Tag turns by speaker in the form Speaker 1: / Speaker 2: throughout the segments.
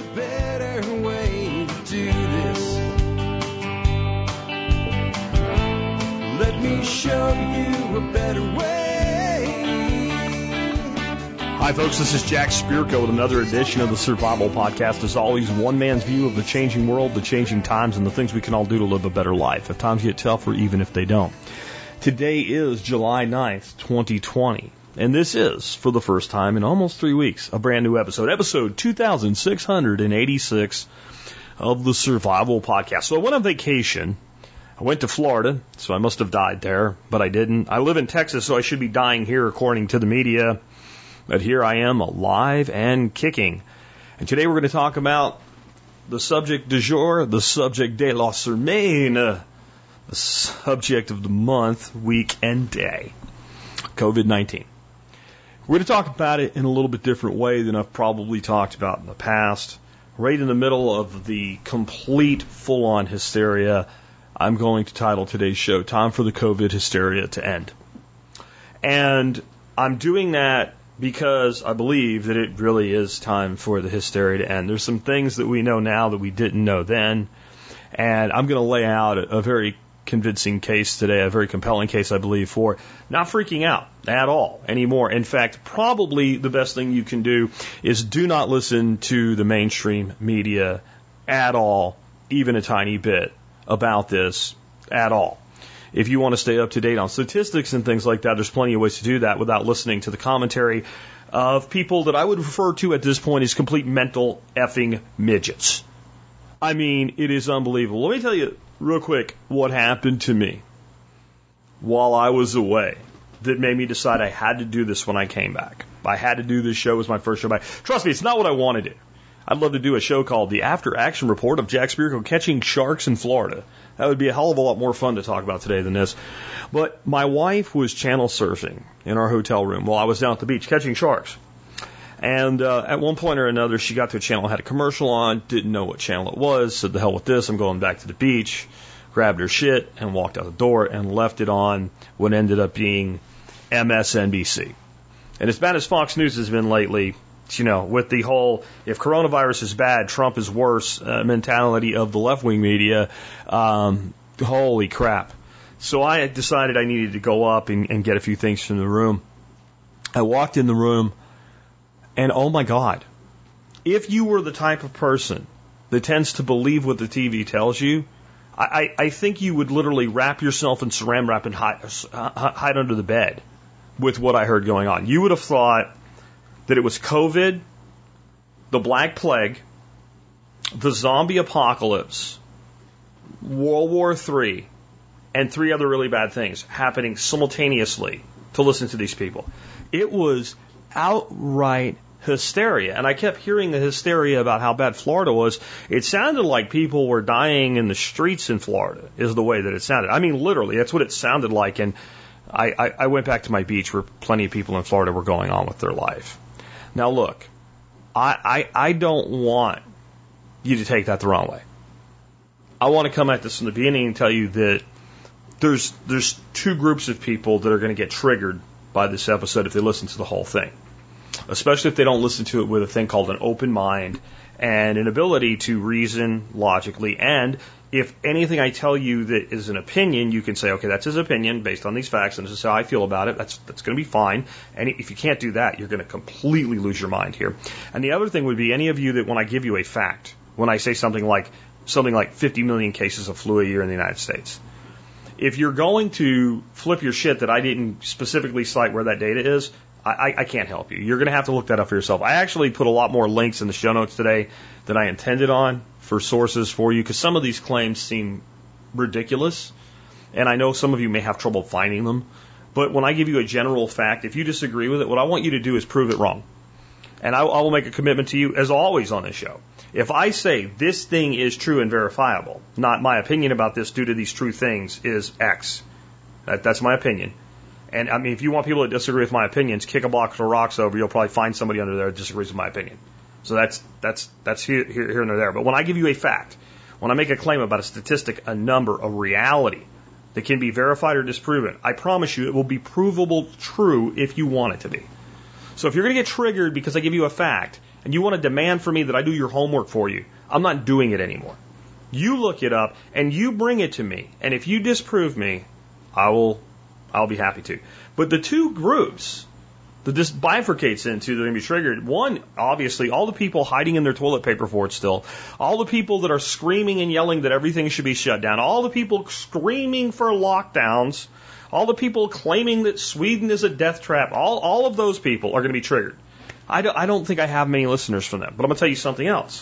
Speaker 1: better way to do this. Let me show you a better way.
Speaker 2: Hi, folks. This is Jack Spirko with another edition of the Survival Podcast. As always, one man's view of the changing world, the changing times, and the things we can all do to live a better life, if times get tough or even if they don't. Today is July 9th, 2020. And this is, for the first time in almost 3 weeks, a brand new episode 2686 of the Survival Podcast. So I went on vacation. I went to Florida, so I must have died there, but I didn't. I live in Texas, so I should be dying here according to the media. But here I am, alive and kicking. And today we're going to talk about the subject du jour, the subject de la semaine, the subject of the month, week, and day, COVID-19. We're going to talk about it in a little bit different way than I've probably talked about in the past. Right in the middle of the complete full-on hysteria, I'm going to title today's show, Time for the COVID Hysteria to End. And I'm doing that because I believe that it really is time for the hysteria to end. There's some things that we know now that we didn't know then, and I'm going to lay out a very convincing case today, a very compelling case, I believe, for not freaking out at all anymore. In fact, probably the best thing you can do is do not listen to the mainstream media at all, even a tiny bit, about this at all. If you want to stay up to date on statistics and things like that, there's plenty of ways to do that without listening to the commentary of people that I would refer to at this point as complete mental effing midgets. I mean, it is unbelievable. Let me tell you real quick what happened to me while I was away that made me decide I had to do this when I came back. I had to do this show as my first show back. Trust me, it's not what I want to do. I'd love to do a show called The After Action Report of Jack Spirko Catching Sharks in Florida. That would be a hell of a lot more fun to talk about today than this. But my wife was channel surfing in our hotel room while I was down at the beach catching sharks. And at one point or another, she got to a channel, had a commercial on, didn't know what channel it was, said, the hell with this, I'm going back to the beach, grabbed her shit and walked out the door and left it on what ended up being MSNBC. And as bad as Fox News has been lately, you know, with the whole, if coronavirus is bad, Trump is worse mentality of the left-wing media, holy crap. So I had decided I needed to go up and get a few things from the room. I walked in the room, and oh my God, if you were the type of person that tends to believe what the TV tells you, I think you would literally wrap yourself in saran wrap and hide under the bed with what I heard going on. You would have thought that it was COVID, the Black Plague, the zombie apocalypse, World War III, and 3 other really bad things happening simultaneously to listen to these people. It was outright hysteria. And I kept hearing the hysteria about how bad Florida was. It sounded like people were dying in the streets in Florida, is the way that it sounded. I mean, literally, that's what it sounded like. And I went back to my beach where plenty of people in Florida were going on with their life. Now, look, I don't want you to take that the wrong way. I want to come at this from the beginning and tell you that there's 2 groups of people that are going to get triggered by this episode if they listen to the whole thing, especially if they don't listen to it with a thing called an open mind and an ability to reason logically. And if anything I tell you that is an opinion, you can say, okay, that's his opinion based on these facts, and this is how I feel about it. That's going to be fine. And if you can't do that, you're going to completely lose your mind here. And the other thing would be any of you that when I give you a fact, when I say something like 50 million cases of flu a year in the United States, if you're going to flip your shit that I didn't specifically cite where that data is, I can't help you. You're going to have to look that up for yourself. I actually put a lot more links in the show notes today than I intended on for sources for you, because some of these claims seem ridiculous, and I know some of you may have trouble finding them. But when I give you a general fact, if you disagree with it, what I want you to do is prove it wrong. And I will make a commitment to you, as always on this show. If I say this thing is true and verifiable, not my opinion about this due to these true things is X. That's my opinion. And I mean, if you want people to disagree with my opinions, kick a box of rocks over, you'll probably find somebody under there that disagrees with my opinion. So that's here and there. But when I give you a fact, when I make a claim about a statistic, a number, a reality that can be verified or disproven, I promise you it will be provable true if you want it to be. So if you're going to get triggered because I give you a fact, and you want to demand for me that I do your homework for you, I'm not doing it anymore. You look it up and you bring it to me. And if you disprove me, I'll be happy to. But the two groups that this bifurcates into that are going to be triggered, one, obviously, all the people hiding in their toilet paper for it still, all the people that are screaming and yelling that everything should be shut down, all the people screaming for lockdowns, all the people claiming that Sweden is a death trap, all of those people are going to be triggered. I don't think I have many listeners from them, but I'm going to tell you something else.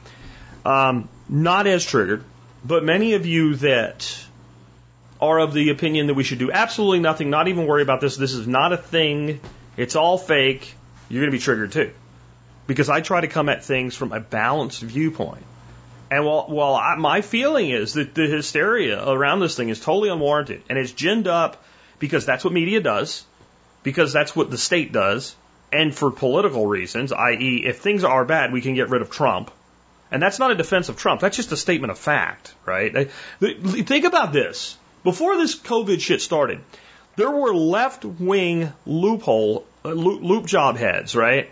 Speaker 2: Not as triggered, but many of you that are of the opinion that we should do absolutely nothing, not even worry about this, this is not a thing, it's all fake, you're going to be triggered too. Because I try to come at things from a balanced viewpoint. And while my feeling is that the hysteria around this thing is totally unwarranted, and it's ginned up because that's what media does, because that's what the state does, and for political reasons, i.e., if things are bad, we can get rid of Trump. And that's not a defense of Trump, that's just a statement of fact, right? Think about this. Before this COVID shit started, there were left-wing loop job heads, right?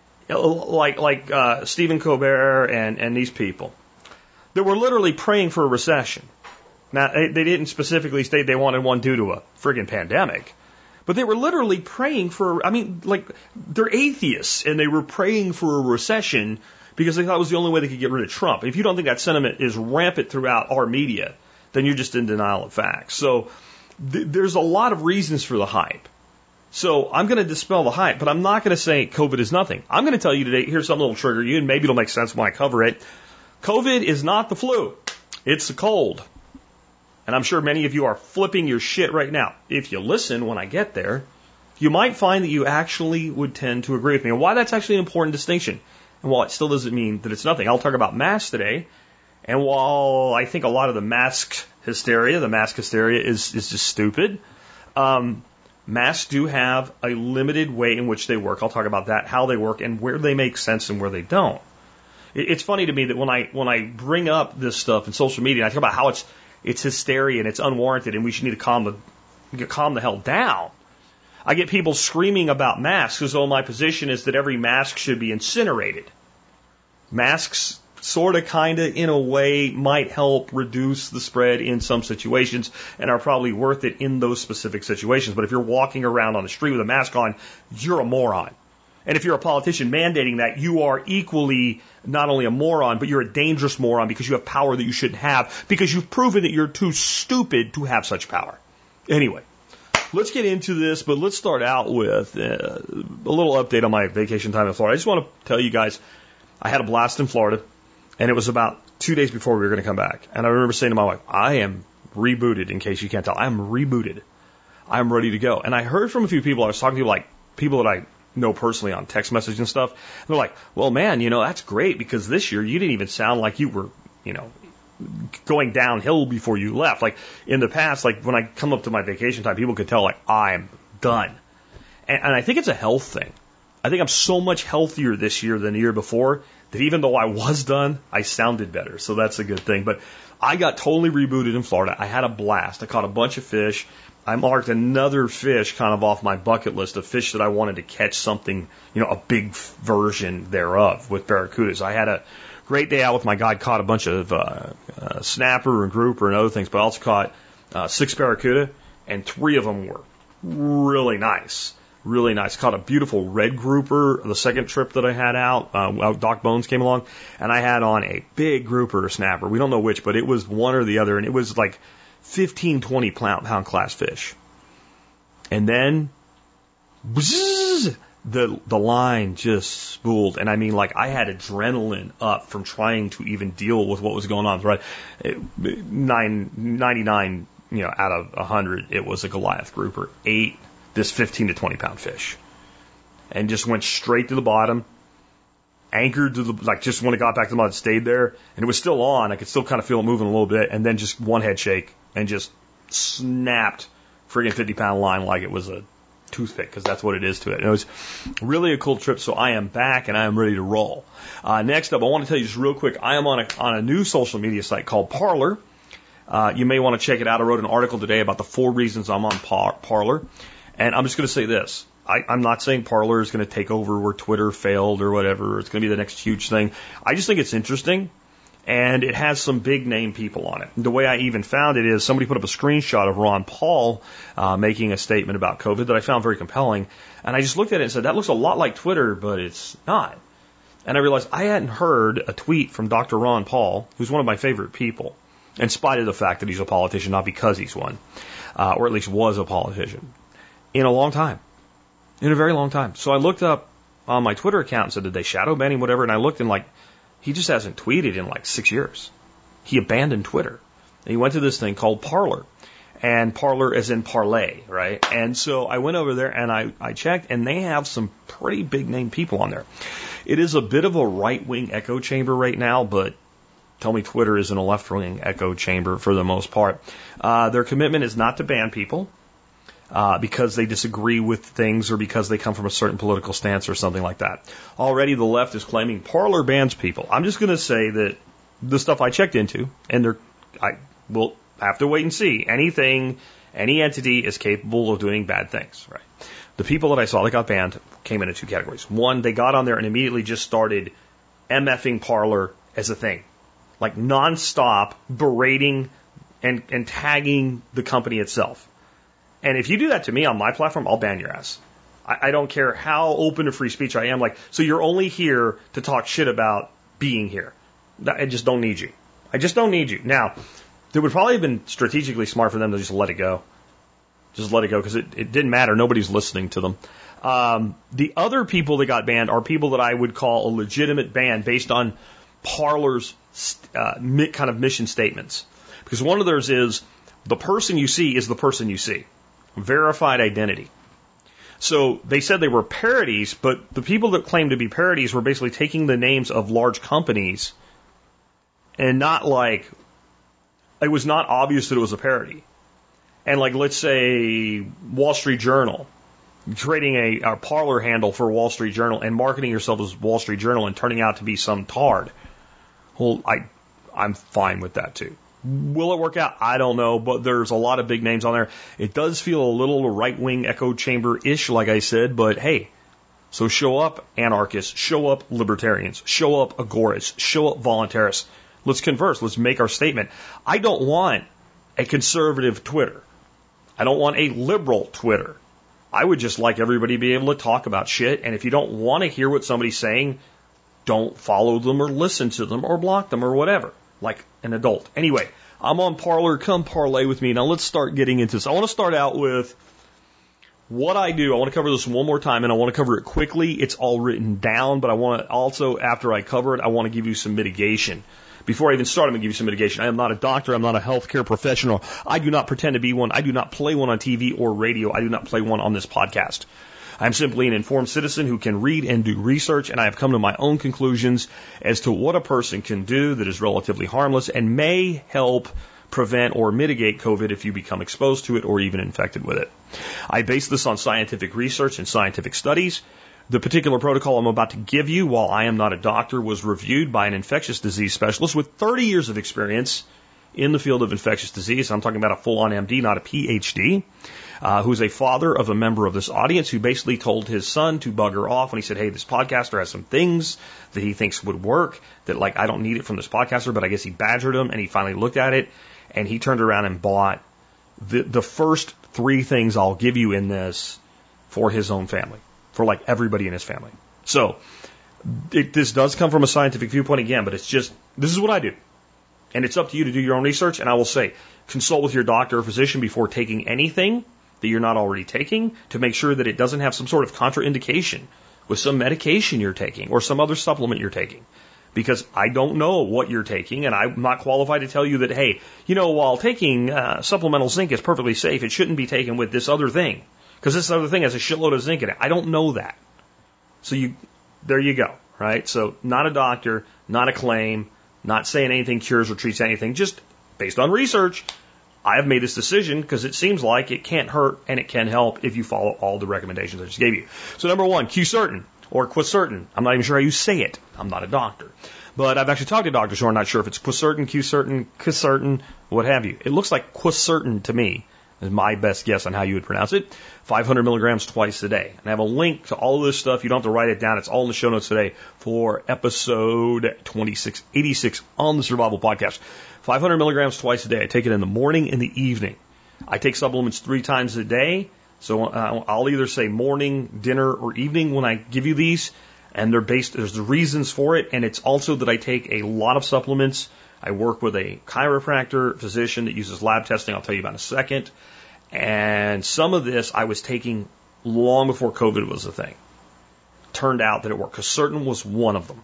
Speaker 2: Like Stephen Colbert and these people. They were literally praying for a recession. Now, they didn't specifically state they wanted one due to a friggin' pandemic, but they were literally praying for, they're atheists, and they were praying for a recession because they thought it was the only way they could get rid of Trump. If you don't think that sentiment is rampant throughout our media, then you're just in denial of facts. So there's a lot of reasons for the hype. So I'm going to dispel the hype, but I'm not going to say COVID is nothing. I'm going to tell you today, here's something that will trigger you, and maybe it'll make sense when I cover it. COVID is not the flu. It's the cold. And I'm sure many of you are flipping your shit right now. If you listen when I get there, you might find that you actually would tend to agree with me. And why that's actually an important distinction. And while it still doesn't mean that it's nothing, I'll talk about masks today. And while I think a lot of the mask hysteria is just stupid, masks do have a limited way in which they work. I'll talk about that, how they work, and where they make sense and where they don't. It's funny to me that when I bring up this stuff in social media, I talk about how it's hysteria and it's unwarranted and we should need to calm the hell down. I get people screaming about masks as though my position is that every mask should be incinerated. Masks sort of, kind of, in a way, might help reduce the spread in some situations and are probably worth it in those specific situations. But if you're walking around on the street with a mask on, you're a moron. And if you're a politician mandating that, you are equally not only a moron, but you're a dangerous moron because you have power that you shouldn't have, because you've proven that you're too stupid to have such power. Anyway, let's get into this, but let's start out with a little update on my vacation time in Florida. I just want to tell you guys, I had a blast in Florida, and it was about 2 days before we were going to come back. And I remember saying to my wife, I am rebooted, in case you can't tell. I am rebooted. I'm ready to go. And I heard from a few people, I was talking to like people that I know personally on text message and stuff. And they're like, well, man, that's great because this year you didn't even sound like you were, going downhill before you left. Like in the past, like when I come up to my vacation time, people could tell like I'm done. And I think it's a health thing. I think I'm so much healthier this year than the year before that even though I was done, I sounded better. So that's a good thing. But I got totally rebooted in Florida. I had a blast. I caught a bunch of fish. I marked another fish kind of off my bucket list of fish that I wanted to catch something, a big version thereof with barracudas. I had a great day out with my guide, caught a bunch of snapper and grouper and other things, but I also caught 6 barracuda, and 3 of them were really nice. Really nice. Caught a beautiful red grouper the second trip that I had out. Doc Bones came along, and I had on a big grouper or snapper. We don't know which, but it was one or the other, and it was like 15, 20 pound class fish. And then bzzz, the line just spooled. And I mean, like, I had adrenaline up from trying to even deal with what was going on. Right? 99, out of 100, it was a Goliath grouper. 8 this 15 to 20 pound fish. And just went straight to the bottom. Anchored to just when it got back to the mud, stayed there, and it was still on. I could still kind of feel it moving a little bit, and then just one head shake and just snapped friggin' 50-pound line like it was a toothpick, because that's what it is to it. And it was really a cool trip, so I am back and I am ready to roll. Next up, I want to tell you just real quick, I am on a new social media site called Parler. You may want to check it out. I wrote an article today about the 4 reasons I'm on Parler, and I'm just going to say this. I'm not saying Parler is going to take over where Twitter failed or whatever. It's going to be the next huge thing. I just think it's interesting, and it has some big name people on it. The way I even found it is somebody put up a screenshot of Ron Paul making a statement about COVID that I found very compelling, and I just looked at it and said, that looks a lot like Twitter, but it's not. And I realized I hadn't heard a tweet from Dr. Ron Paul, who's one of my favorite people, in spite of the fact that he's a politician, not because he's one, or at least was a politician, in a long time. In a very long time. So I looked up on my Twitter account and said, did they shadow ban him, whatever? And I looked and he just hasn't tweeted in 6 years. He abandoned Twitter. And he went to this thing called Parler. And Parler as in parlay, right? And so I went over there and I checked, and they have some pretty big name people on there. It is a bit of a right-wing echo chamber right now, but tell me Twitter isn't a left-wing echo chamber for the most part. Their commitment is not to ban people because they disagree with things or because they come from a certain political stance or something like that. Already the left is claiming Parler bans people. I'm just going to say that the stuff I checked into, and I will have to wait and see. Any entity is capable of doing bad things, right? The people that I saw that got banned came into two categories. One, they got on there and immediately just started MFing Parler as a thing. Nonstop berating and tagging the company itself. And if you do that to me on my platform, I'll ban your ass. I don't care how open to free speech I am. So you're only here to talk shit about being here. I just don't need you. I just don't need you. Now, it would probably have been strategically smart for them to just let it go. Just let it go because it didn't matter. Nobody's listening to them. The other people that got banned are people that I would call a legitimate ban based on Parler's kind of mission statements. Because one of theirs is the person you see is the person you see. Verified identity. So they said they were parodies, but the people that claimed to be parodies were basically taking the names of large companies and not it was not obvious that it was a parody. And let's say Wall Street Journal, creating a Parler handle for Wall Street Journal and marketing yourself as Wall Street Journal and turning out to be some tard. Well, I'm fine with that too. Will it work out? I don't know, but there's a lot of big names on there. It does feel a little right-wing echo chamber-ish, like I said, but hey, so show up anarchists, show up libertarians, show up agorists, show up voluntarists. Let's converse. Let's make our statement. I don't want a conservative Twitter. I don't want a liberal Twitter. I would just like everybody to be able to talk about shit, and if you don't want to hear what somebody's saying, don't follow them or listen to them or block them or whatever, like an adult. Anyway, I'm on Parler. Come parlay with me. Now let's start getting into this. I want to start out with what I do. I want to cover this one more time, and I want to cover it quickly. It's all written down, but I want to also, after I cover it, I want to give you some mitigation. Before I even start, I'm going to give you some mitigation. I am not a doctor. I'm not a healthcare professional. I do not pretend to be one. I do not play one on TV or radio. I do not play one on this podcast. I'm simply an informed citizen who can read and do research, and I have come to my own conclusions as to what a person can do that is relatively harmless and may help prevent or mitigate COVID if you become exposed to it or even infected with it. I base this on scientific research and scientific studies. The particular protocol I'm about to give you, while I am not a doctor, was reviewed by an infectious disease specialist with 30 years of experience in the field of infectious disease. I'm talking about a full-on MD, not a PhD, who's a father of a member of this audience who basically told his son to bugger off when he said, hey, this podcaster has some things that he thinks would work, that I don't need it from this podcaster, but I guess he badgered him, and he finally looked at it, and he turned around and bought the first three things I'll give you in this for his own family. For everybody in his family. So, this does come from a scientific viewpoint again, but it's just, this is what I do. And it's up to you to do your own research, and I will say, consult with your doctor or physician before taking anything that you're not already taking to make sure that it doesn't have some sort of contraindication with some medication you're taking or some other supplement you're taking. Because I don't know what you're taking, and I'm not qualified to tell you that, hey, while taking supplemental zinc is perfectly safe, it shouldn't be taken with this other thing. Because this other thing has a shitload of zinc in it. I don't know that. So there you go, right? So not a doctor, not a claim, not saying anything cures or treats anything, just based on research, I have made this decision because it seems like it can't hurt and it can help if you follow all the recommendations I just gave you. So number one, Q-Certain or Quacertain. I'm not even sure how you say it. I'm not a doctor. But I've actually talked to doctors who are not sure if it's Quacertain, Q-Certain, Quacertain, what have you. It looks like Quacertain to me. is my best guess on how you would pronounce it. 500 milligrams twice a day. And I have a link to all of this stuff. You don't have to write it down. It's all in the show notes today for episode 2686 on the Survival Podcast. 500 milligrams twice a day. I take it in the morning and the evening. I take supplements 3 times a day. So I'll either say morning, dinner, or evening when I give you these. And there's the reasons for it. And it's also that I take a lot of supplements. I work with a chiropractor physician that uses lab testing. I'll tell you about in a second. And some of this I was taking long before COVID was a thing. Turned out that it worked. Quercetin was one of them.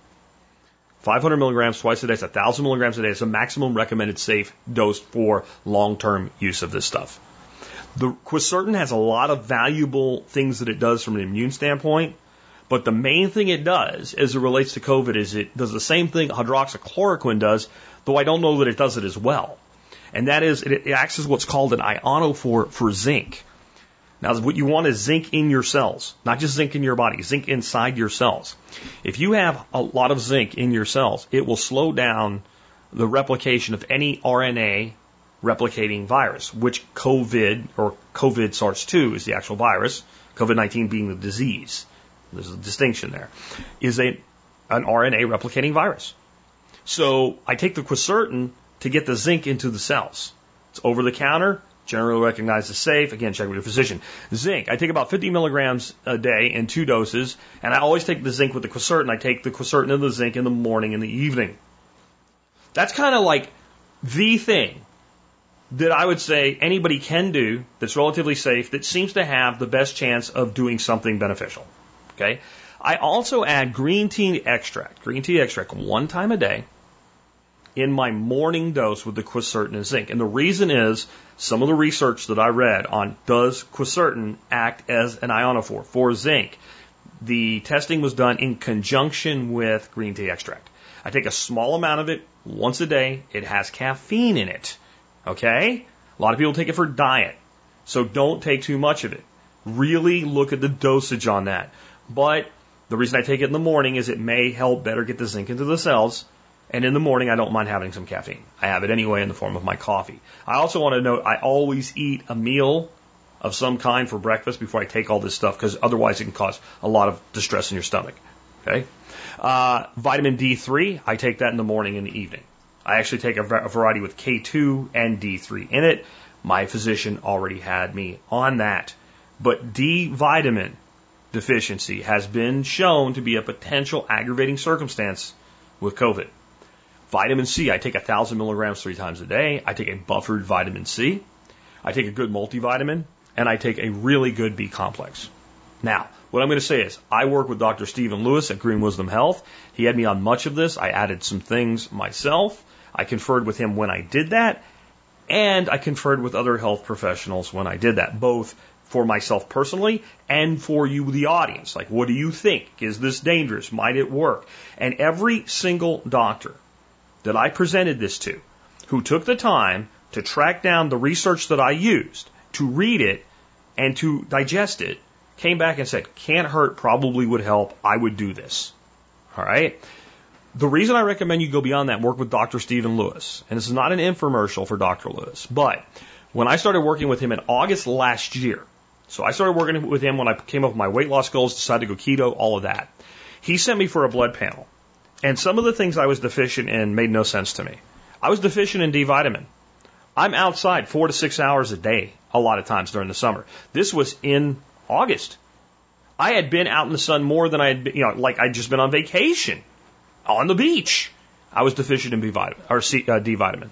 Speaker 2: 500 milligrams twice a day. It's 1,000 milligrams a day. It's the maximum recommended safe dose for long-term use of this stuff. The Quercetin has a lot of valuable things that it does from an immune standpoint. But the main thing it does as it relates to COVID is it does the same thing hydroxychloroquine does, though I don't know that it does it as well. And that is, it acts as what's called an ionophore for zinc. Now, what you want is zinc in your cells, not just zinc in your body, zinc inside your cells. If you have a lot of zinc in your cells, it will slow down the replication of any RNA replicating virus, which COVID, or COVID SARS-2 is the actual virus, COVID-19 being the disease. There's a distinction there, is an RNA replicating virus. So I take the Quercetin to get the zinc into the cells. It's over the counter, generally recognized as safe. Again, check with your physician. Zinc, I take about 50 milligrams a day in 2 doses, and I always take the zinc with the Quercetin. I take the Quercetin and the zinc in the morning and the evening. That's kind of like the thing that I would say anybody can do that's relatively safe, that seems to have the best chance of doing something beneficial. Okay. I also add green tea extract 1 time a day in my morning dose with the Quercetin and zinc. And the reason is some of the research that I read on does Quercetin act as an ionophore for zinc. The testing was done in conjunction with green tea extract. I take a small amount of it once a day. It has caffeine in it. Okay. A lot of people take it for diet. So don't take too much of it. Really look at the dosage on that. But the reason I take it in the morning is it may help better get the zinc into the cells. And in the morning, I don't mind having some caffeine. I have it anyway in the form of my coffee. I also want to note I always eat a meal of some kind for breakfast before I take all this stuff, because otherwise it can cause a lot of distress in your stomach. Okay. Vitamin D3, I take that in the morning and the evening. I actually take a variety with K2 and D3 in it. My physician already had me on that. But D vitamin deficiency has been shown to be a potential aggravating circumstance with COVID. Vitamin C, I take 1,000 milligrams 3 times a day. I take a buffered vitamin C. I take a good multivitamin, and I take a really good B complex. Now, what I'm going to say is I work with Dr. Stephen Lewis at Green Wisdom Health. He had me on much of this. I added some things myself. I conferred with him when I did that, and I conferred with other health professionals when I did that, both for myself personally and for you, the audience. Like, what do you think? Is this dangerous? Might it work? And every single doctor that I presented this to, who took the time to track down the research that I used, to read it and to digest it, came back and said, can't hurt, probably would help, I would do this. All right? The reason I recommend you go beyond that, work with Dr. Stephen Lewis, and this is not an infomercial for Dr. Lewis, but when I started working with him in August last year, so I started working with him when I came up with my weight loss goals, decided to go keto, all of that. He sent me for a blood panel. And some of the things I was deficient in made no sense to me. I was deficient in D vitamin. I'm outside 4 to 6 hours a day a lot of times during the summer. This was in August. I had been out in the sun more than I had been, like I'd just been on vacation on the beach. I was deficient in B vitamin or D vitamin.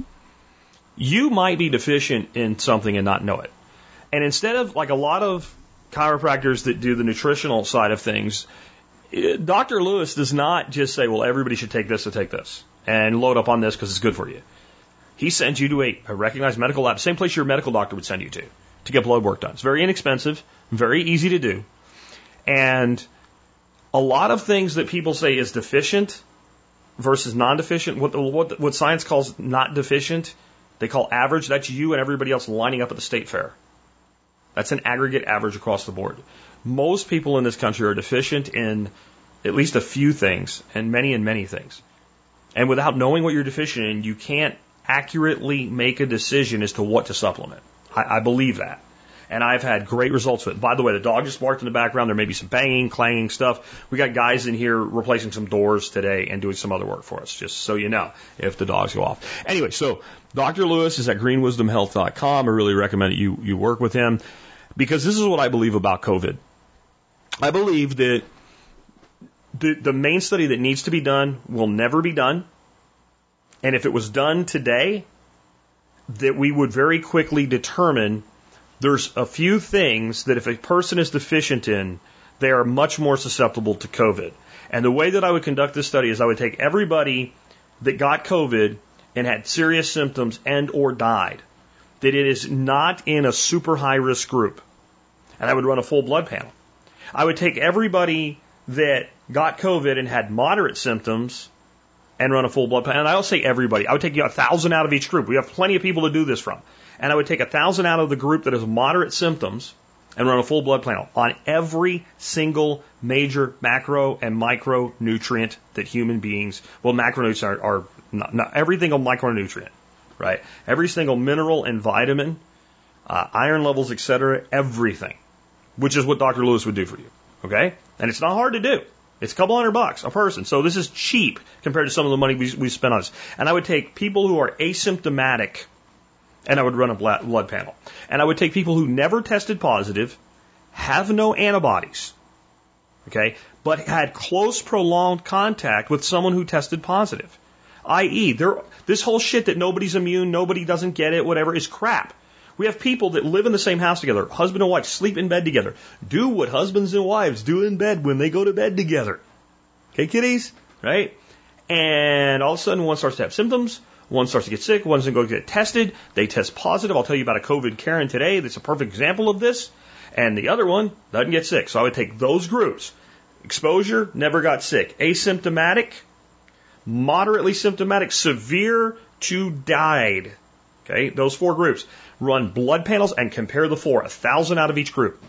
Speaker 2: You might be deficient in something and not know it. And instead of like a lot of chiropractors that do the nutritional side of things, Dr. Lewis does not just say, well, everybody should take this or take this and load up on this because it's good for you. He sends you to a recognized medical lab, same place your medical doctor would send you to get blood work done. It's very inexpensive, very easy to do. And a lot of things that people say is deficient versus non-deficient, what science calls not deficient, they call average. That's you and everybody else lining up at the state fair. That's an aggregate average across the board. Most people in this country are deficient in at least a few things and many things. And without knowing what you're deficient in, you can't accurately make a decision as to what to supplement. I believe that. And I've had great results with it. By the way, the dog just barked in the background. There may be some banging, clanging stuff. We got guys in here replacing some doors today and doing some other work for us, just so you know, if the dogs go off. Anyway, so Dr. Lewis is at greenwisdomhealth.com. I really recommend that you work with him, because this is what I believe about COVID. I believe that the main study that needs to be done will never be done. And if it was done today, that we would very quickly determine there's a few things that if a person is deficient in, they are much more susceptible to COVID. And the way that I would conduct this study is I would take everybody that got COVID and had serious symptoms and or died, that it is not in a super high risk group, and I would run a full blood panel. I would take everybody that got COVID and had moderate symptoms and run a full blood panel. And I'll say everybody. I would take 1,000 out of each group. We have plenty of people to do this from. And I would take 1,000 out of the group that has moderate symptoms and run a full blood panel on every single major macro and micronutrient that human beings, well, macronutrients are not every single micronutrient, right? Every single mineral and vitamin, iron levels, etc., everything, which is what Dr. Lewis would do for you, okay? And it's not hard to do. It's a couple $100 a person. So this is cheap compared to some of the money we spent on this. And I would take people who are asymptomatic and I would run a blood panel. And I would take people who never tested positive, have no antibodies, okay, but had close prolonged contact with someone who tested positive. I.e., this whole shit that nobody's immune, nobody doesn't get it, whatever, is crap. We have people that live in the same house together, husband and wife, sleep in bed together, do what husbands and wives do in bed when they go to bed together. Okay, kiddies? Right? And all of a sudden one starts to have symptoms, one starts to get sick, one's going to go get tested, they test positive. I'll tell you about a COVID Karen today that's a perfect example of this. And the other one doesn't get sick. So I would take those groups. Exposure, never got sick. Asymptomatic, moderately symptomatic, severe to died. Okay, those four groups. Run blood panels and compare the four, 1,000 out of each group.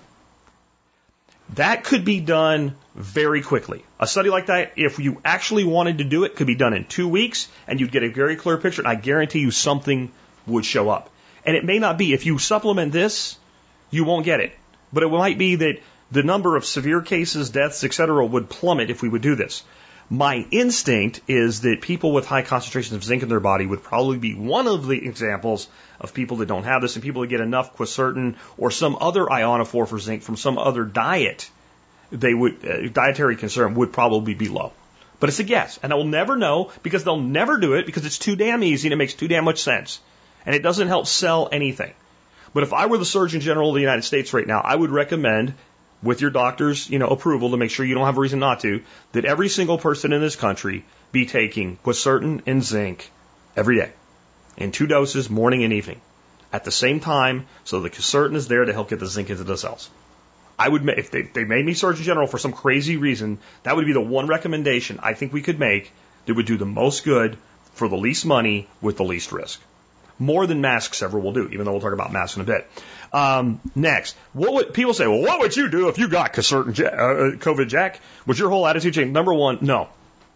Speaker 2: That could be done very quickly. A study like that, if you actually wanted to do it, could be done in 2 weeks, and you'd get a very clear picture, and I guarantee you something would show up. And it may not be. If you supplement this, you won't get it. But it might be that the number of severe cases, deaths, etc. would plummet if we would do this. My instinct is that people with high concentrations of zinc in their body would probably be one of the examples of people that don't have this, and people that get enough quercetin or some other ionophore for zinc from some other diet, they would dietary concern would probably be low. But it's a guess, and I will never know because they'll never do it because it's too damn easy and it makes too damn much sense, and it doesn't help sell anything. But if I were the Surgeon General of the United States right now, I would recommend, with your doctor's, approval to make sure you don't have a reason not to, that every single person in this country be taking quercetin and zinc every day in 2 doses, morning and evening, at the same time, so the quercetin is there to help get the zinc into the cells. I would, if they made me Surgeon General for some crazy reason, that would be the one recommendation I think we could make that would do the most good for the least money with the least risk. More than masks ever will do, even though we'll talk about masks in a bit. Next, people say, well, what would you do if you got COVID, Jack? Would your whole attitude change? Number one, no.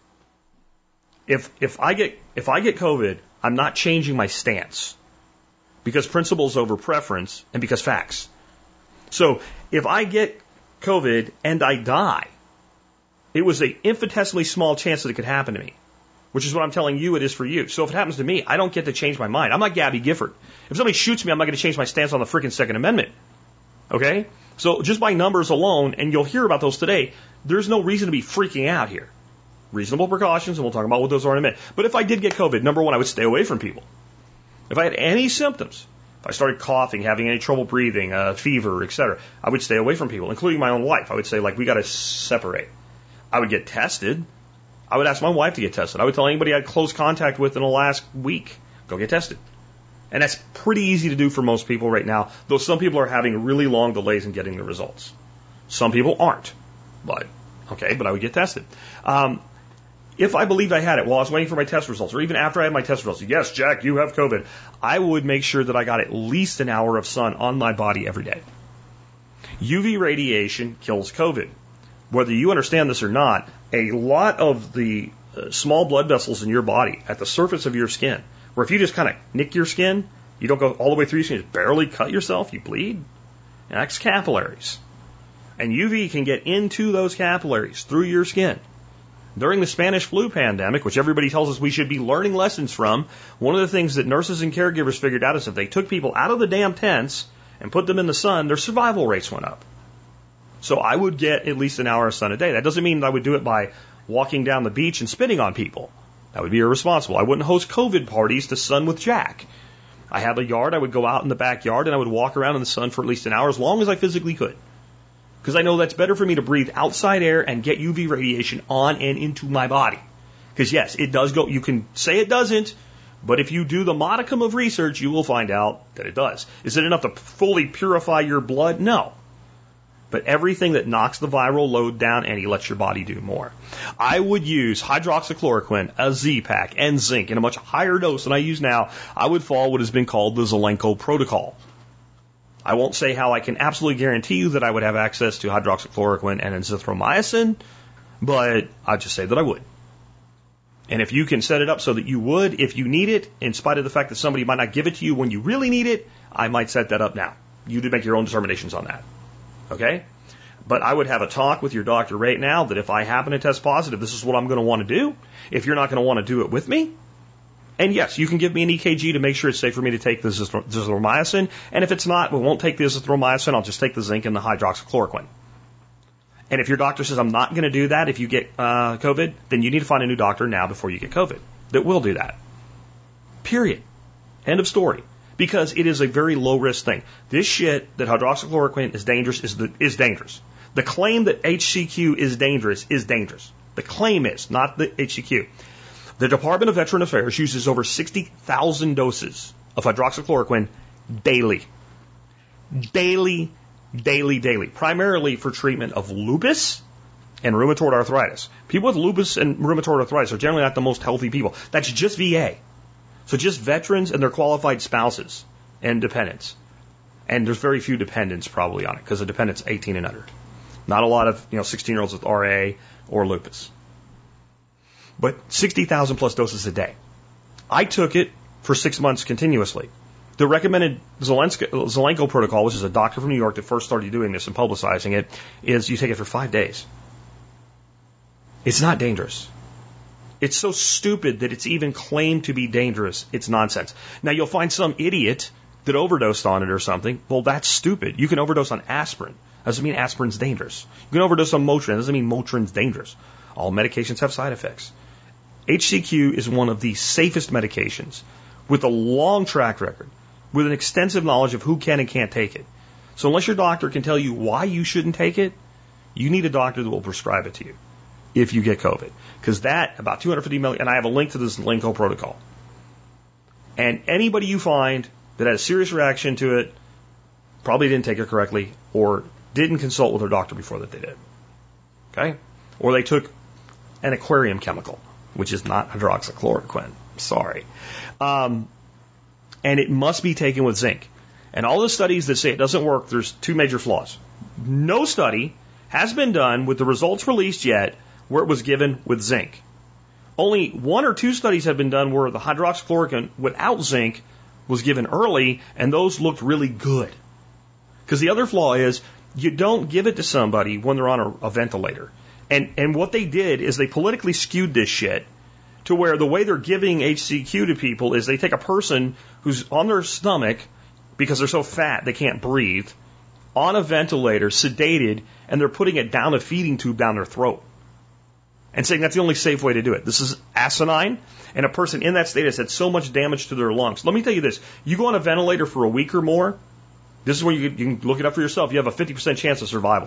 Speaker 2: If I get COVID, I'm not changing my stance because principles over preference and because facts. So if I get COVID and I die, it was an infinitesimally small chance that it could happen to me, which is what I'm telling you it is for you. So if it happens to me, I don't get to change my mind. I'm like Gabby Gifford. If somebody shoots me, I'm not going to change my stance on the freaking Second Amendment. Okay? So just by numbers alone, and you'll hear about those today, there's no reason to be freaking out here. Reasonable precautions, and we'll talk about what those are in a minute. But if I did get COVID, number one, I would stay away from people. If I had any symptoms, if I started coughing, having any trouble breathing, fever, etc., I would stay away from people, including my own wife. I would say, we got to separate. I would get tested. I would ask my wife to get tested. I would tell anybody I had close contact with in the last week, go get tested. And that's pretty easy to do for most people right now, though some people are having really long delays in getting the results. Some people aren't. But I would get tested. If I believed I had it while I was waiting for my test results, or even after I had my test results, yes, Jack, you have COVID, I would make sure that I got at least an hour of sun on my body every day. UV radiation kills COVID. Whether you understand this or not, a lot of the small blood vessels in your body at the surface of your skin, where if you just kind of nick your skin, You don't go all the way through, you just barely cut yourself, you bleed. And that's capillaries. And UV can get into those capillaries through your skin. During the Spanish flu pandemic, which everybody tells us we should be learning lessons from, one of the things that nurses and caregivers figured out is if they took people out of the damn tents and put them in the sun, their survival rates went up. So I would get at least an hour of sun a day. That doesn't mean I would do it by walking down the beach and spitting on people. That would be irresponsible. I wouldn't host COVID parties to sun with Jack. I have a yard. I would go out in the backyard and I would walk around in the sun for at least an hour as long as I physically could. Because I know that's better for me to breathe outside air and get UV radiation on and into my body. Because yes, it does go, you can say it doesn't, but if you do the modicum of research, you will find out that it does. Is it enough to fully purify your blood? No. But everything that knocks the viral load down and lets your body do more. I would use hydroxychloroquine, a Z-Pak, and zinc in a much higher dose than I use now. I would follow what has been called the Zelenko protocol. I won't say how I can absolutely guarantee you that I would have access to hydroxychloroquine and azithromycin, but I'll just say that I would. And if you can set it up so that you would, if you need it, in spite of the fact that somebody might not give it to you when you really need it, I might set that up now. You do make your own determinations on that. Okay? But I would have a talk with your doctor right now that if I happen to test positive, this is what I'm going to want to do. If you're not going to want to do it with me, and yes, you can give me an EKG to make sure it's safe for me to take the azithromycin. And if it's not, we won't take the azithromycin. I'll just take the zinc and the hydroxychloroquine. And if your doctor says I'm not going to do that if you get COVID, then you need to find a new doctor now before you get COVID that will do that. Period. End of story. Because it is a very low risk thing. This shit that hydroxychloroquine is dangerous is dangerous. The claim that HCQ is dangerous is dangerous. The claim is, not the HCQ. The Department of Veteran Affairs uses over 60,000 doses of hydroxychloroquine daily. Daily. Primarily for treatment of lupus and rheumatoid arthritis. People with lupus and rheumatoid arthritis are generally not the most healthy people. That's just VA. So just veterans and their qualified spouses and dependents. And there's very few dependents probably on it because the dependents 18 and under. Not a lot of 16-year-olds with RA or lupus. But 60,000 plus doses a day. I took it for 6 months continuously. The recommended Zelenko protocol, which is a doctor from New York that first started doing this and publicizing it, is you take it for 5 days. It's not dangerous. It's so stupid that it's even claimed to be dangerous. It's nonsense. Now, you'll find some idiot that overdosed on it or something. Well, that's stupid. You can overdose on aspirin. Doesn't mean aspirin's dangerous. You can overdose on Motrin. Doesn't mean Motrin's dangerous. All medications have side effects. HCQ is one of the safest medications with a long track record, with an extensive knowledge of who can and can't take it. So unless your doctor can tell you why you shouldn't take it, you need a doctor that will prescribe it to you if you get COVID. Because that, about 250 million, and I have a link to this Zelenko protocol. And anybody you find that had a serious reaction to it probably didn't take it correctly or didn't consult with their doctor before that they did. Okay? Or they took an aquarium chemical, which is not hydroxychloroquine. Sorry. And it must be taken with zinc. And all the studies that say it doesn't work, there's two major flaws. No study has been done with the results released yet where it was given with zinc. Only 1 or 2 studies have been done where the hydroxychloroquine without zinc was given early, and those looked really good. Because the other flaw is you don't give it to somebody when they're on a ventilator. And what they did is they politically skewed this shit to where the way they're giving HCQ to people is they take a person who's on their stomach because they're so fat they can't breathe, on a ventilator, sedated, and they're putting it down a feeding tube down their throat. And saying that's the only safe way to do it. This is asinine, and a person in that state has had so much damage to their lungs. Let me tell you this. You go on a ventilator for a week or more, this is where you can look it up for yourself. You have a 50% chance of survival.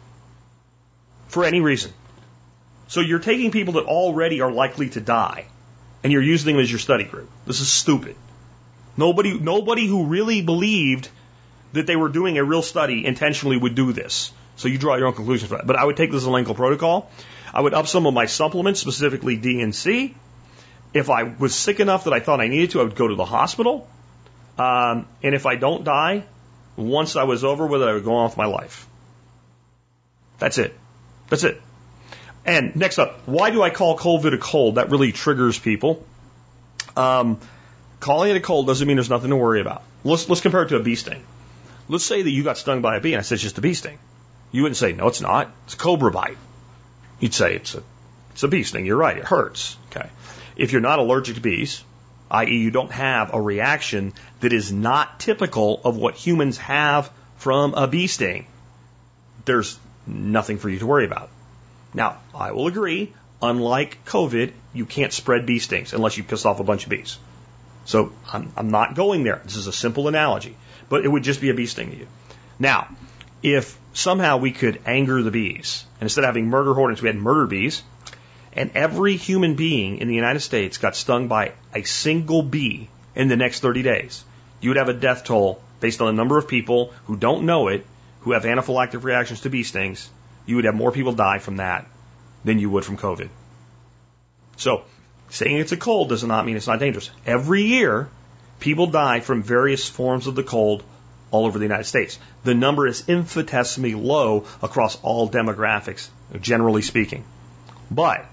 Speaker 2: For any reason. So you're taking people that already are likely to die, and you're using them as your study group. This is stupid. Nobody who really believed that they were doing a real study intentionally would do this. So you draw your own conclusions from that. But I would take the Zelenko protocol. I would up some of my supplements, specifically D and C. If I was sick enough that I thought I needed to, I would go to the hospital. And if I don't die, once I was over with it, I would go on with my life. That's it. That's it. And next up, why do I call COVID a cold? That really triggers people. Calling it a cold doesn't mean there's nothing to worry about. Let's compare it to a bee sting. Let's say that you got stung by a bee and I said it's just a bee sting. You wouldn't say, no, it's not. It's a cobra bite. You'd say it's a bee sting. You're right. It hurts. Okay. If you're not allergic to bees, i.e. you don't have a reaction that is not typical of what humans have from a bee sting, there's nothing for you to worry about. Now, I will agree, unlike COVID, you can't spread bee stings unless you piss off a bunch of bees. So I'm not going there. This is a simple analogy, but it would just be a bee sting to you. Now, if somehow we could anger the bees, and instead of having murder hornets, we had murder bees, and every human being in the United States got stung by a single bee in the next 30 days, you would have a death toll based on the number of people who don't know it, who have anaphylactic reactions to bee stings. You would have more people die from that than you would from COVID. So, saying it's a cold does not mean it's not dangerous. Every year, people die from various forms of the cold all over the United States. The number is infinitesimally low across all demographics, generally speaking. But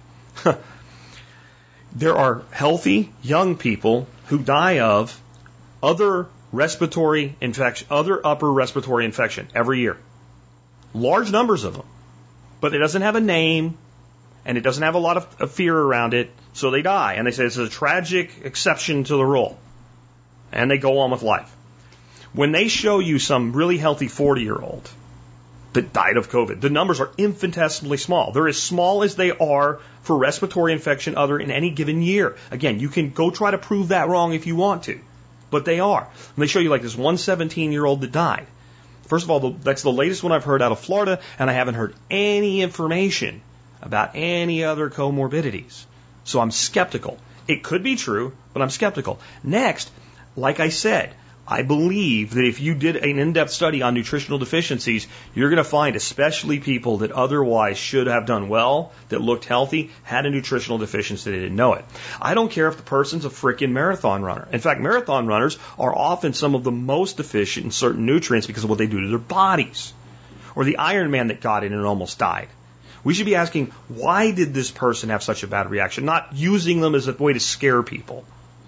Speaker 2: there are healthy young people who die of other respiratory infection, other upper respiratory infection every year. Large numbers of them. But it doesn't have a name, and it doesn't have a lot of fear around it, so they die. And they say it's a tragic exception to the rule. And they go on with life. When they show you some really healthy 40-year-old that died of COVID, the numbers are infinitesimally small. They're as small as they are for respiratory infection other in any given year. Again, you can go try to prove that wrong if you want to, but they are. And they show you like this one 17-year-old that died. First of all, that's the latest one I've heard out of Florida, and I haven't heard any information about any other comorbidities. So I'm skeptical. It could be true, but I'm skeptical. Next, like I said, I believe that if you did an in-depth study on nutritional deficiencies, you're going to find especially people that otherwise should have done well, that looked healthy, had a nutritional deficiency, they didn't know it. I don't care if the person's a freaking marathon runner. In fact, marathon runners are often some of the most deficient in certain nutrients because of what they do to their bodies. Or the Ironman that got in and almost died. We should be asking, why did this person have such a bad reaction? Not using them as a way to scare people.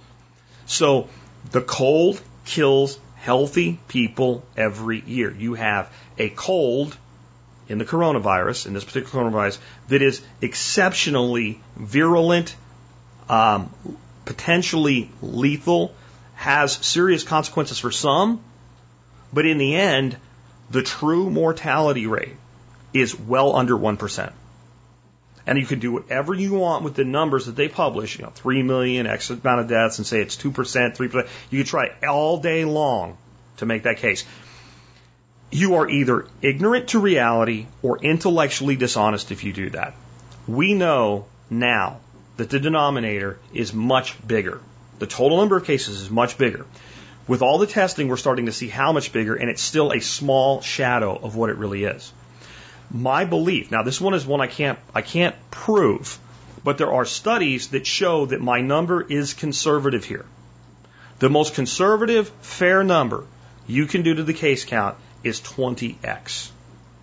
Speaker 2: So, the cold kills healthy people every year. You have a cold in the coronavirus, in this particular coronavirus, that is exceptionally virulent, potentially lethal, has serious consequences for some, but in the end, the true mortality rate is well under 1%. And you can do whatever you want with the numbers that they publish, 3 million, X amount of deaths, and say it's 2%, 3%. You can try all day long to make that case. You are either ignorant to reality or intellectually dishonest if you do that. We know now that the denominator is much bigger. The total number of cases is much bigger. With all the testing, we're starting to see how much bigger, and it's still a small shadow of what it really is. My belief, now this one is one I can't prove, but there are studies that show that my number is conservative here. The most conservative, fair number you can do to the case count is 20x.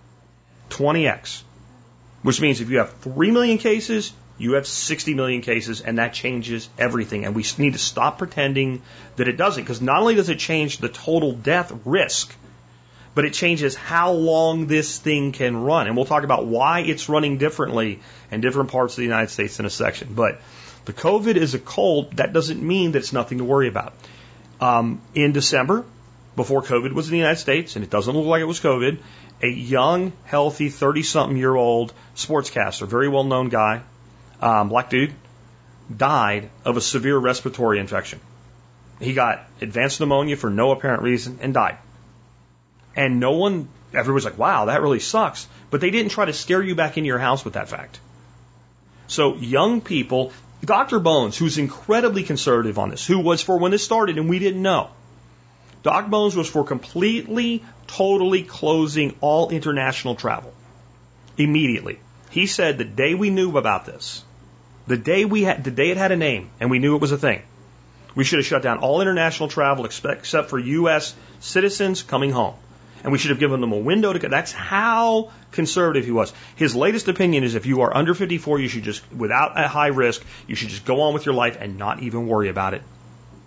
Speaker 2: 20x. Which means if you have 3 million cases, you have 60 million cases, and that changes everything. And we need to stop pretending that it doesn't, because not only does it change the total death risk, but it changes how long this thing can run. And we'll talk about why it's running differently in different parts of the United States in a section. But the COVID is a cold. That doesn't mean that it's nothing to worry about. In December, before COVID was in the United States, and it doesn't look like it was COVID, a young, healthy, 30-something-year-old sportscaster, very well-known guy, black dude, died of a severe respiratory infection. He got advanced pneumonia for no apparent reason and died. And everybody's like, wow, that really sucks. But they didn't try to scare you back into your house with that fact. So young people, Dr. Bones, who's incredibly conservative on this, who was for when this started and we didn't know. Doc Bones was for completely, totally closing all international travel. Immediately. He said the day we knew about this, the day it had a name and we knew it was a thing, we should have shut down all international travel except for U.S. citizens coming home. And we should have given them a window to go. That's how conservative he was. His latest opinion is if you are under 54, you should just, without a high risk, you should just go on with your life and not even worry about it.